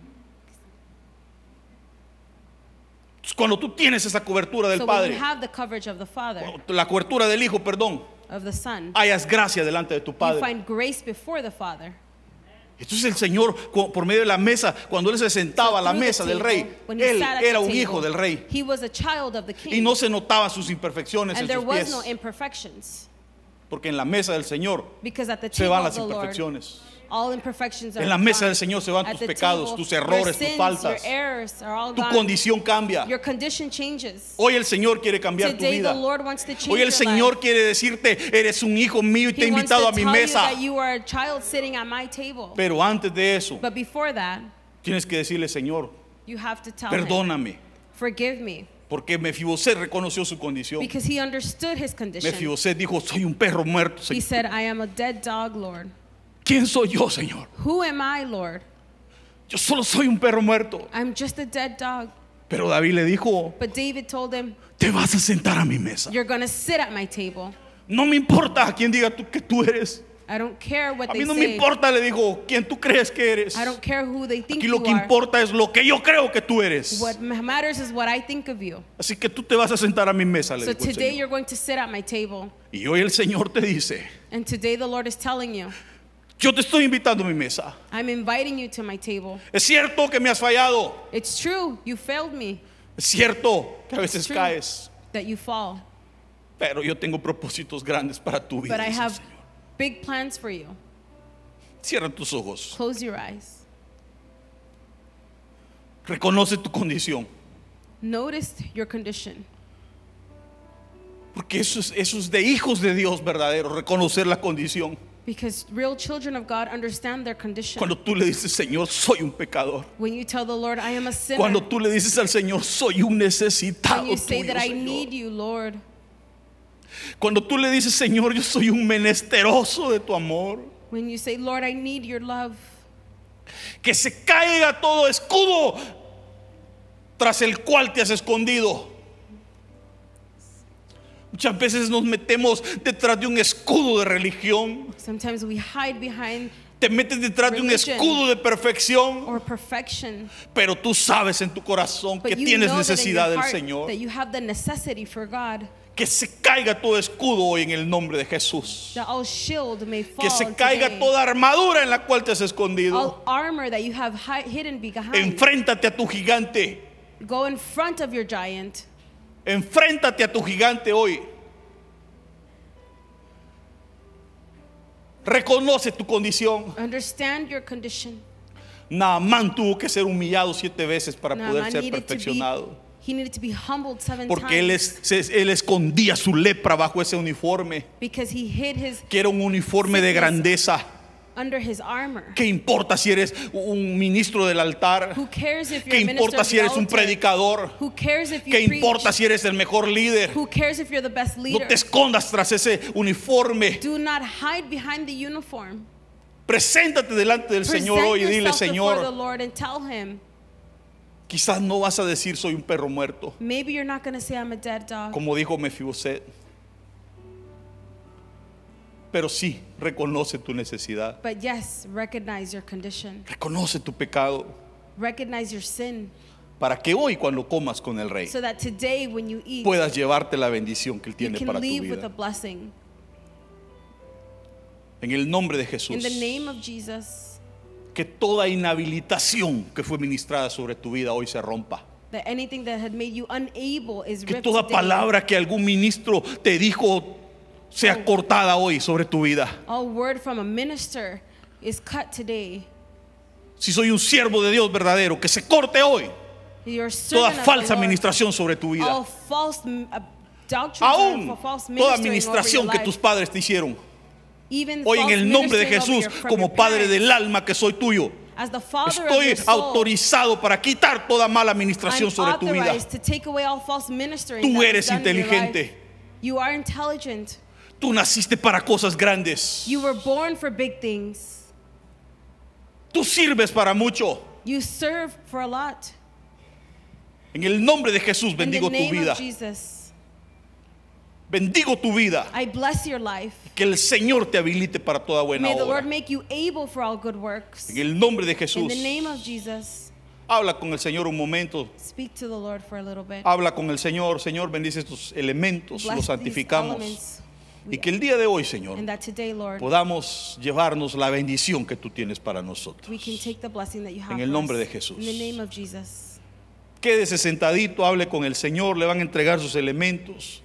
Cuando tú tienes esa cobertura del So when padre, you have the coverage of the Father, la cobertura del hijo, perdón, of the Son, hayas gracia delante de tu you padre. find grace before the Father. Entonces el Señor, cu- por medio de la mesa, cuando él se sentaba a la Through the mesa del table, rey, when he él sat at era the un table, hijo del rey. He was a child of the king. Y no se notaban sus imperfecciones en and there sus was pies. no imperfections. Porque en la mesa del Señor Because at the se table van of las the Lord, imperfecciones. all imperfections are En la mesa gone. del Señor se van At tus the pecados, table, tus your errores, tus sins, faltas. your errors are all Tu gone. condición cambia. Your condition changes. Hoy el Señor quiere cambiar tu Today vida. the Lord wants to change Hoy el your Señor life. quiere decirte, eres un hijo mío y te he He wants invitado to a mi tell mesa. you that you are a child sitting at my table. Pero antes de eso, But before that, tienes que decirle, Señor, you have to tell him, perdóname. forgive me. Porque Mefiboset reconoció su condición. Because he understood his condition. Mefiboset dijo, soy un perro muerto, He Señor. said, I am a dead dog, Lord. ¿Quién soy yo, Señor? Who am I, Lord? Yo solo soy un perro muerto. I'm just a dead dog. Pero David le dijo, But David told him, te vas a sentar a mi mesa. you're going to sit at my table. No me importa a quién diga tú que tú eres. I don't care what A they mí no me say. importa, le dijo, quién tú crees que eres. I don't care who they think Aquí you lo que are. importa es lo que yo creo que tú eres. What matters is what I think of you. Así que tú te vas a sentar a mi mesa, le So dijo el today Señor. you're going to sit at my table. Y hoy el Señor te dice, And today the Lord is telling you, yo te estoy invitando a mi mesa. I'm inviting you to my table. Es cierto que me has fallado. It's true, you failed me, Es cierto que a veces true. caes. that you fall. Pero yo tengo propósitos grandes para tu vida. But I dice el have Señor. big plans for you. Cierra tus ojos. Close your eyes. Reconoce tu condición. Notice your condition. Porque eso es, eso es de hijos de Dios verdaderos, reconocer la condición. Because real children of God understand their condition. Cuando tú le dices, Señor, soy un pecador. When you tell the Lord, I am a sinner. Cuando tú le dices al Señor, soy un necesitado When you say tuyo, that I Señor. need you, Lord. Cuando tú le dices, Señor, yo soy un menesteroso de tu amor. When you say, Lord, I need your love. Que se caiga todo escudo tras el cual te has escondido. Muchas veces nos metemos detrás de un escudo de religión. Sometimes we hide behind Te metes detrás de un Religion. escudo de perfección. or perfection. Pero tú sabes en tu corazón que But you tienes know that in necesidad your del heart Señor. that you have the necessity for God. Que se caiga todo escudo hoy en el nombre de Jesús. That all shield may fall Que se caiga today. toda armadura en la cual te has escondido. All armor that you have hi- hidden behind. Enfréntate a tu gigante. Go in front of your giant. Enfréntate a tu gigante hoy. Reconoce tu condición. Understand your condition. Naamán tuvo que ser humillado siete veces para poder Naaman ser needed to be, perfeccionado. he needed to be humbled seven Porque él, times es, se- él escondía su lepra bajo ese uniforme, because he hid his que era un uniforme de grandeza. under his armor. ¿Qué importa si eres un ministro del altar? Who cares if you're ¿Qué a minister importa of si the eres un altar? predicador? Who cares if you ¿Qué preach? importa si eres el mejor líder? Who cares if you're the best No leader? te escondas tras ese uniforme. Do not hide behind the uniform. Preséntate delante del Present Señor hoy y dile: yourself before the Señor, Lord and tell him. quizás no vas a decir soy un perro muerto, Maybe you're not going to say I'm a dead dog. como dijo Mefiboset, pero sí reconoce tu necesidad, But yes, recognize your condition. reconoce tu pecado, Recognize your sin. para que hoy cuando comas con el Rey So that today when you eat, puedas llevarte la bendición que Él you tiene can para tu leave with a vida. blessing. En el nombre de In Jesús, the name of Jesus, que toda inhabilitación que fue ministrada sobre tu vida hoy se rompa. that anything that had made you unable is Que ripped toda today. palabra que algún ministro te dijo sea cortada hoy sobre tu vida. All word from a minister is cut today. Si soy un siervo de Dios verdadero, que se corte hoy You're a toda servant of falsa the Lord. administración sobre tu vida. All false mm, uh, doctrines Aún or false toda ministering over administración your que life. tus padres te hicieron. Even Hoy en false el nombre de ministering over Jesús, your- from como your Padre parents. del alma que soy tuyo, As the father of estoy your soul, autorizado para quitar toda mala administración I'm sobre tu vida. authorized to take away all false ministering Tú that was eres done in your inteligente. life. You are intelligent. Tú naciste para cosas grandes. You were born for big things. Tú sirves para mucho. You serve for a lot. En el nombre de Jesús In bendigo the tu name vida. of Jesus, Bendigo tu vida. I bless your life. Que el Señor te habilite para toda buena May the obra. Lord make you able for all good works. En el nombre de In Jesús. the name of Jesus, Habla con el Señor un momento. speak to the Lord for a little bit. Habla con el Señor. Señor, bendice estos elementos. Bless Los these santificamos. elements. Y que el día de hoy, Señor, And that today, Lord, podamos llevarnos la bendición que tú tienes para nosotros. we can take the blessing that you have En el for nombre us. de Jesús. In the name of Jesus. Quédese sentadito, hable con el Señor, le van a entregar sus elementos.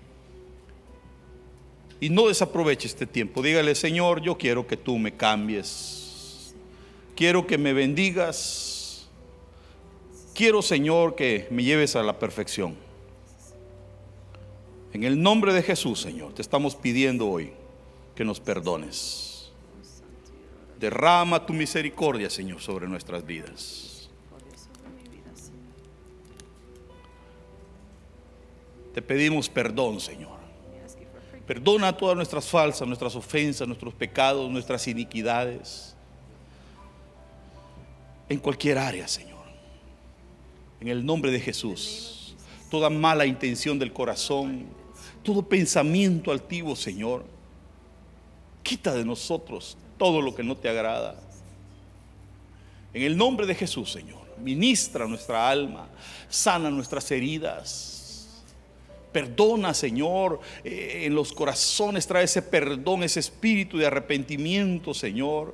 Y no desaproveche este tiempo. Dígale: Señor, yo quiero que tú me cambies. Quiero que me bendigas. Quiero, Señor, que me lleves a la perfección. En el nombre de Jesús, Señor, te estamos pidiendo hoy que nos perdones. Derrama tu misericordia, Señor, sobre nuestras vidas. Te pedimos perdón, Señor. Perdona todas nuestras falsas, nuestras ofensas, nuestros pecados, nuestras iniquidades. En cualquier área, Señor. En el nombre de Jesús. Toda mala intención del corazón, todo pensamiento altivo, Señor. Quita de nosotros todo lo que no te agrada. En el nombre de Jesús, Señor. Ministra nuestra alma, sana nuestras heridas. Perdona, Señor, eh, en los corazones trae ese perdón, ese espíritu de arrepentimiento, Señor.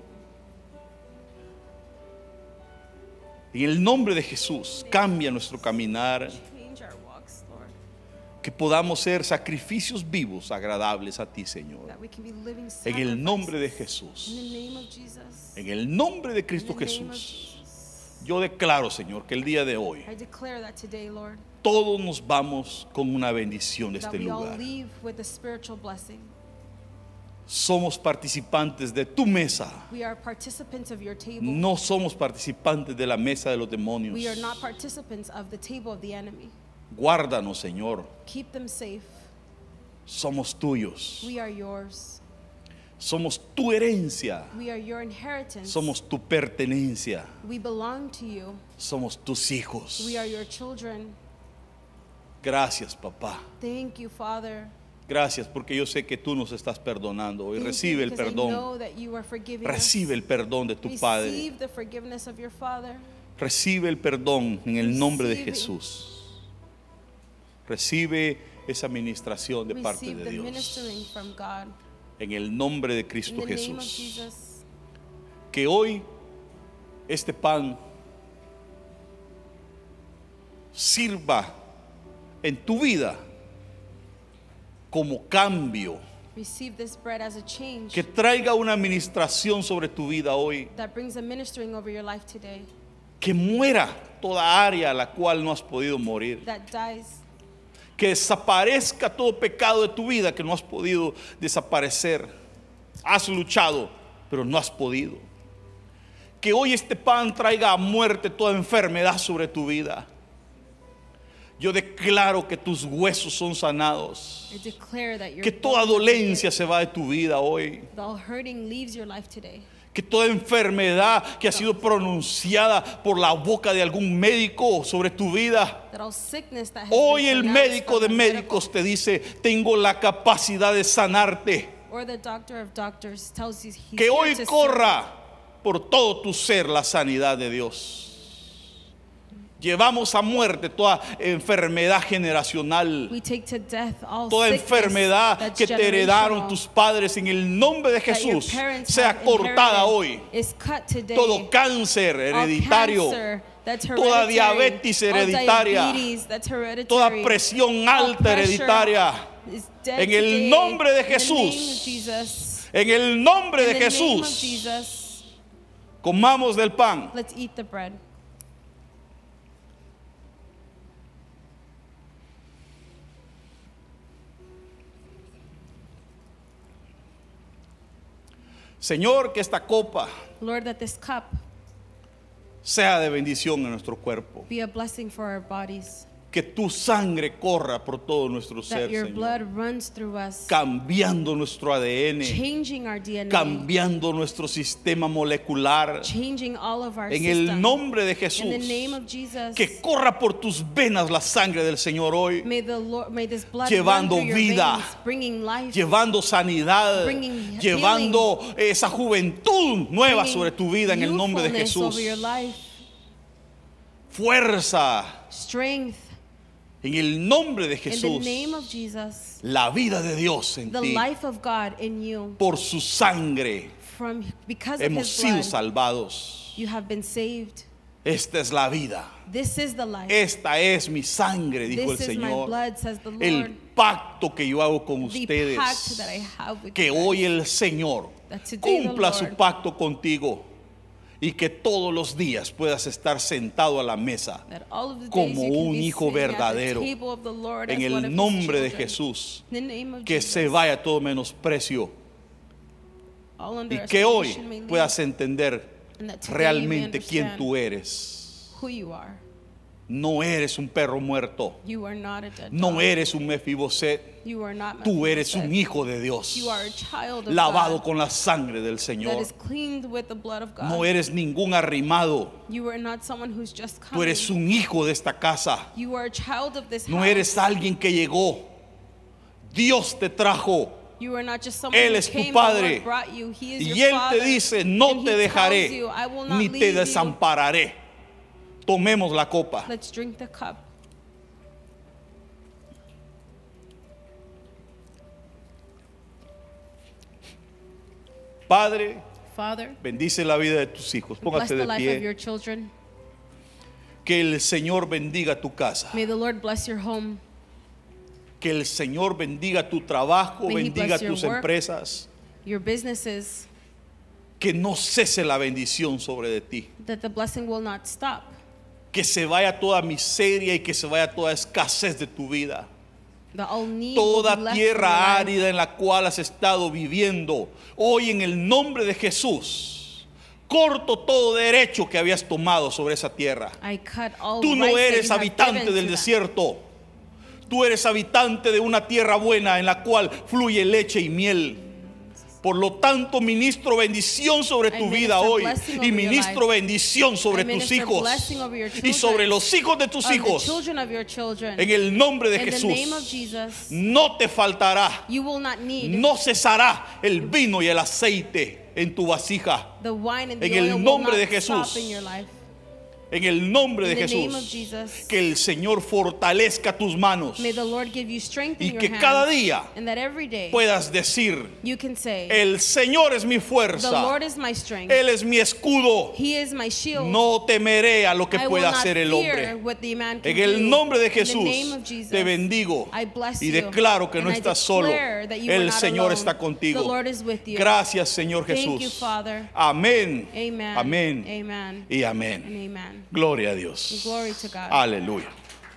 En el nombre de Jesús, cambia nuestro caminar, Change our walks, Lord, que podamos ser sacrificios vivos, agradables a ti, Señor. that we can be living En el nombre de sacrifices. Jesús, In the name of Jesus. en el nombre de In Cristo the name of Jesús, Jesus. yo declaro, Señor, que el día de hoy I declare that today, Lord, todos nos vamos con una bendición de that este we all lugar. leave with a spiritual blessing. Somos participantes de tu mesa. We are participants of your table. No somos participantes de la mesa de los demonios. We are not participants of the table of the enemy. Guárdanos, Señor. Keep them safe. Somos tuyos. We are yours. Somos tu herencia. We are your inheritance. Somos tu pertenencia. We belong to you. Somos tus hijos. We are your children. Gracias, papá. Thank you, Father. Gracias porque yo sé que tú nos estás perdonando hoy. Thank you Recibe el because I perdón. know that you are forgiving Recibe us. el perdón de tu Padre. Receive the forgiveness of your Father. Recibe el perdón en el nombre de Recibe. Jesús. Recibe esa administración de parte Receive de the Dios. ministering from God. En el nombre de In Cristo the name of Jesús. Jesus. Que hoy este pan sirva en tu vida como cambio Receive this bread as a change que traiga una administración sobre tu vida hoy, that brings a ministering over your life today, que muera toda área a la cual no has podido morir, that dies, que desaparezca todo pecado de tu vida que no has podido desaparecer. Has luchado, pero no has podido. Que hoy este pan traiga a muerte toda enfermedad sobre tu vida. Yo declaro que tus huesos son sanados, I declare that your que toda bones are dolencia se va de tu vida hoy, healed. The all hurting leaves your life today. que toda enfermedad que ha sido pronunciada por la boca de algún médico sobre tu vida, That all sickness that has hoy been el pronounced médico de from the médicos te dice: tengo la capacidad de sanarte. medical, or the doctor of doctors tells you he's Que here hoy to corra por todo tu ser la sanidad de Dios. Llevamos a muerte toda enfermedad generacional, serve. We take to death all toda sickness enfermedad that's que te heredaron generational, tus padres, en el nombre de that your Jesús, parents sea have cortada inherited, hoy. is cut today. Todo cáncer All hereditario, cancer that's toda hereditary, diabetes all hereditaria, diabetes that's hereditary, toda presión all alta pressure hereditaria, is dead en el today. nombre de In the name of Jesús, Jesus. en el nombre In de the name of Jesús, Jesus. comamos del pan. Let's eat the bread. Señor, que esta copa Lord, that this cup sea de bendición en nuestro cuerpo. be a blessing for our bodies, Que tu sangre corra por todo nuestro ser, that your Señor, blood runs through us, cambiando nuestro A D N, changing our D N A, cambiando nuestro sistema molecular, changing all of our en el systems. nombre de In Jesús. the name of Jesus, Que corra por tus venas la sangre del Señor hoy, may the Lord, may this blood llevando run through your vida, veins, bringing life, llevando sanidad, Bringing llevando esa juventud nueva bringing sobre tu vida en el nombre de youthfulness Jesús. over your life, Fuerza strength, en el nombre de in the Jesús. name of Jesus, La vida de Dios en the ti. life of God in you, Por su sangre from because of hemos His sido blood, salvados. you have been saved. Esta es la vida. This is the life. Esta es mi sangre, dijo el This is my Señor. blood, says the El Lord. pacto que yo hago con The ustedes. pact that I have with Que you guys. hoy el Señor That today the cumpla su Lord- pacto contigo. Y que todos los días puedas estar sentado a la mesa That all of the days como you can un be hijo sitting at the verdadero. table of the Lord En as one el of His nombre de children. Jesús. In the name of Que Jesus, se vaya todo menosprecio. all Y que hoy underestimation may leave, puedas entender and that today you may realmente quién understand tú eres. who you are. No eres un perro muerto. You are not a dead No dog. eres un Mefiboset. You are not Tú eres Mephibosheth. un hijo de Dios, You are a child of lavado God con la sangre del that Señor. is cleaned with the blood of God. No eres ningún arrimado. You are not someone who's just Tú coming. eres un hijo de esta casa. You are a child of this No house. eres alguien que llegó. Dios te trajo. You are not just someone Él who es tu came, the Padre. Lord brought you. He is Y your Él father. te dice, no And te he dejaré, tells you, I will not ni te leave you. desampararé. Tomemos la copa. Let's drink the cup. Padre, Father, bendice la vida de tus hijos. bless Póngase the de life of your pie. children. Que el Señor bendiga tu casa. May the Lord bless your home. Que el Señor bendiga tu trabajo, May he bendiga bless your tus work. empresas. Your businesses, Que no cese la bendición sobre de ti. that the blessing will not stop. Que se vaya toda miseria y que se vaya toda escasez de tu vida. The all need will Toda be left tierra from your life. árida en la cual has estado viviendo, hoy en el nombre de Jesús, corto todo derecho que habías tomado sobre esa tierra. I cut all Tú no rights that eres you have habitante given del to that. desierto. Tú eres habitante de una tierra buena en la cual fluye leche y miel. Por lo tanto, ministro bendición sobre tu I vida minister hoy blessing y over your ministro life. bendición sobre I tus minister hijos blessing over your y children. sobre los hijos de tus Of the hijos. children of your children. En el nombre de In the Jesús, name of Jesus, no te faltará, you will not need no cesará el vino y el aceite en tu vasija. the wine and the en el oil will nombre not de Jesús. stop in your life. En el nombre de In the name of Jesús. Jesus. Que el Señor fortalezca tus manos. May the Lord give you strength in Y your que hands, cada día and that every day puedas decir, you can say, el Señor es mi the fuerza. Lord is my strength. Él es mi escudo. He is my shield. No temeré a lo que I will pueda not hacer el fear hombre. what the man can En el do. nombre de In the Jesús name of Jesus, te bendigo I bless y you, declaro que no and I estás solo. declare that you are El not Señor alone. está contigo. The Lord is with you. Gracias, Señor Thank Jesús. you, Father. Amén. Amen. Amén. Amen. Y And amén. amen. Gloria a Dios. Glory to God. Aleluya.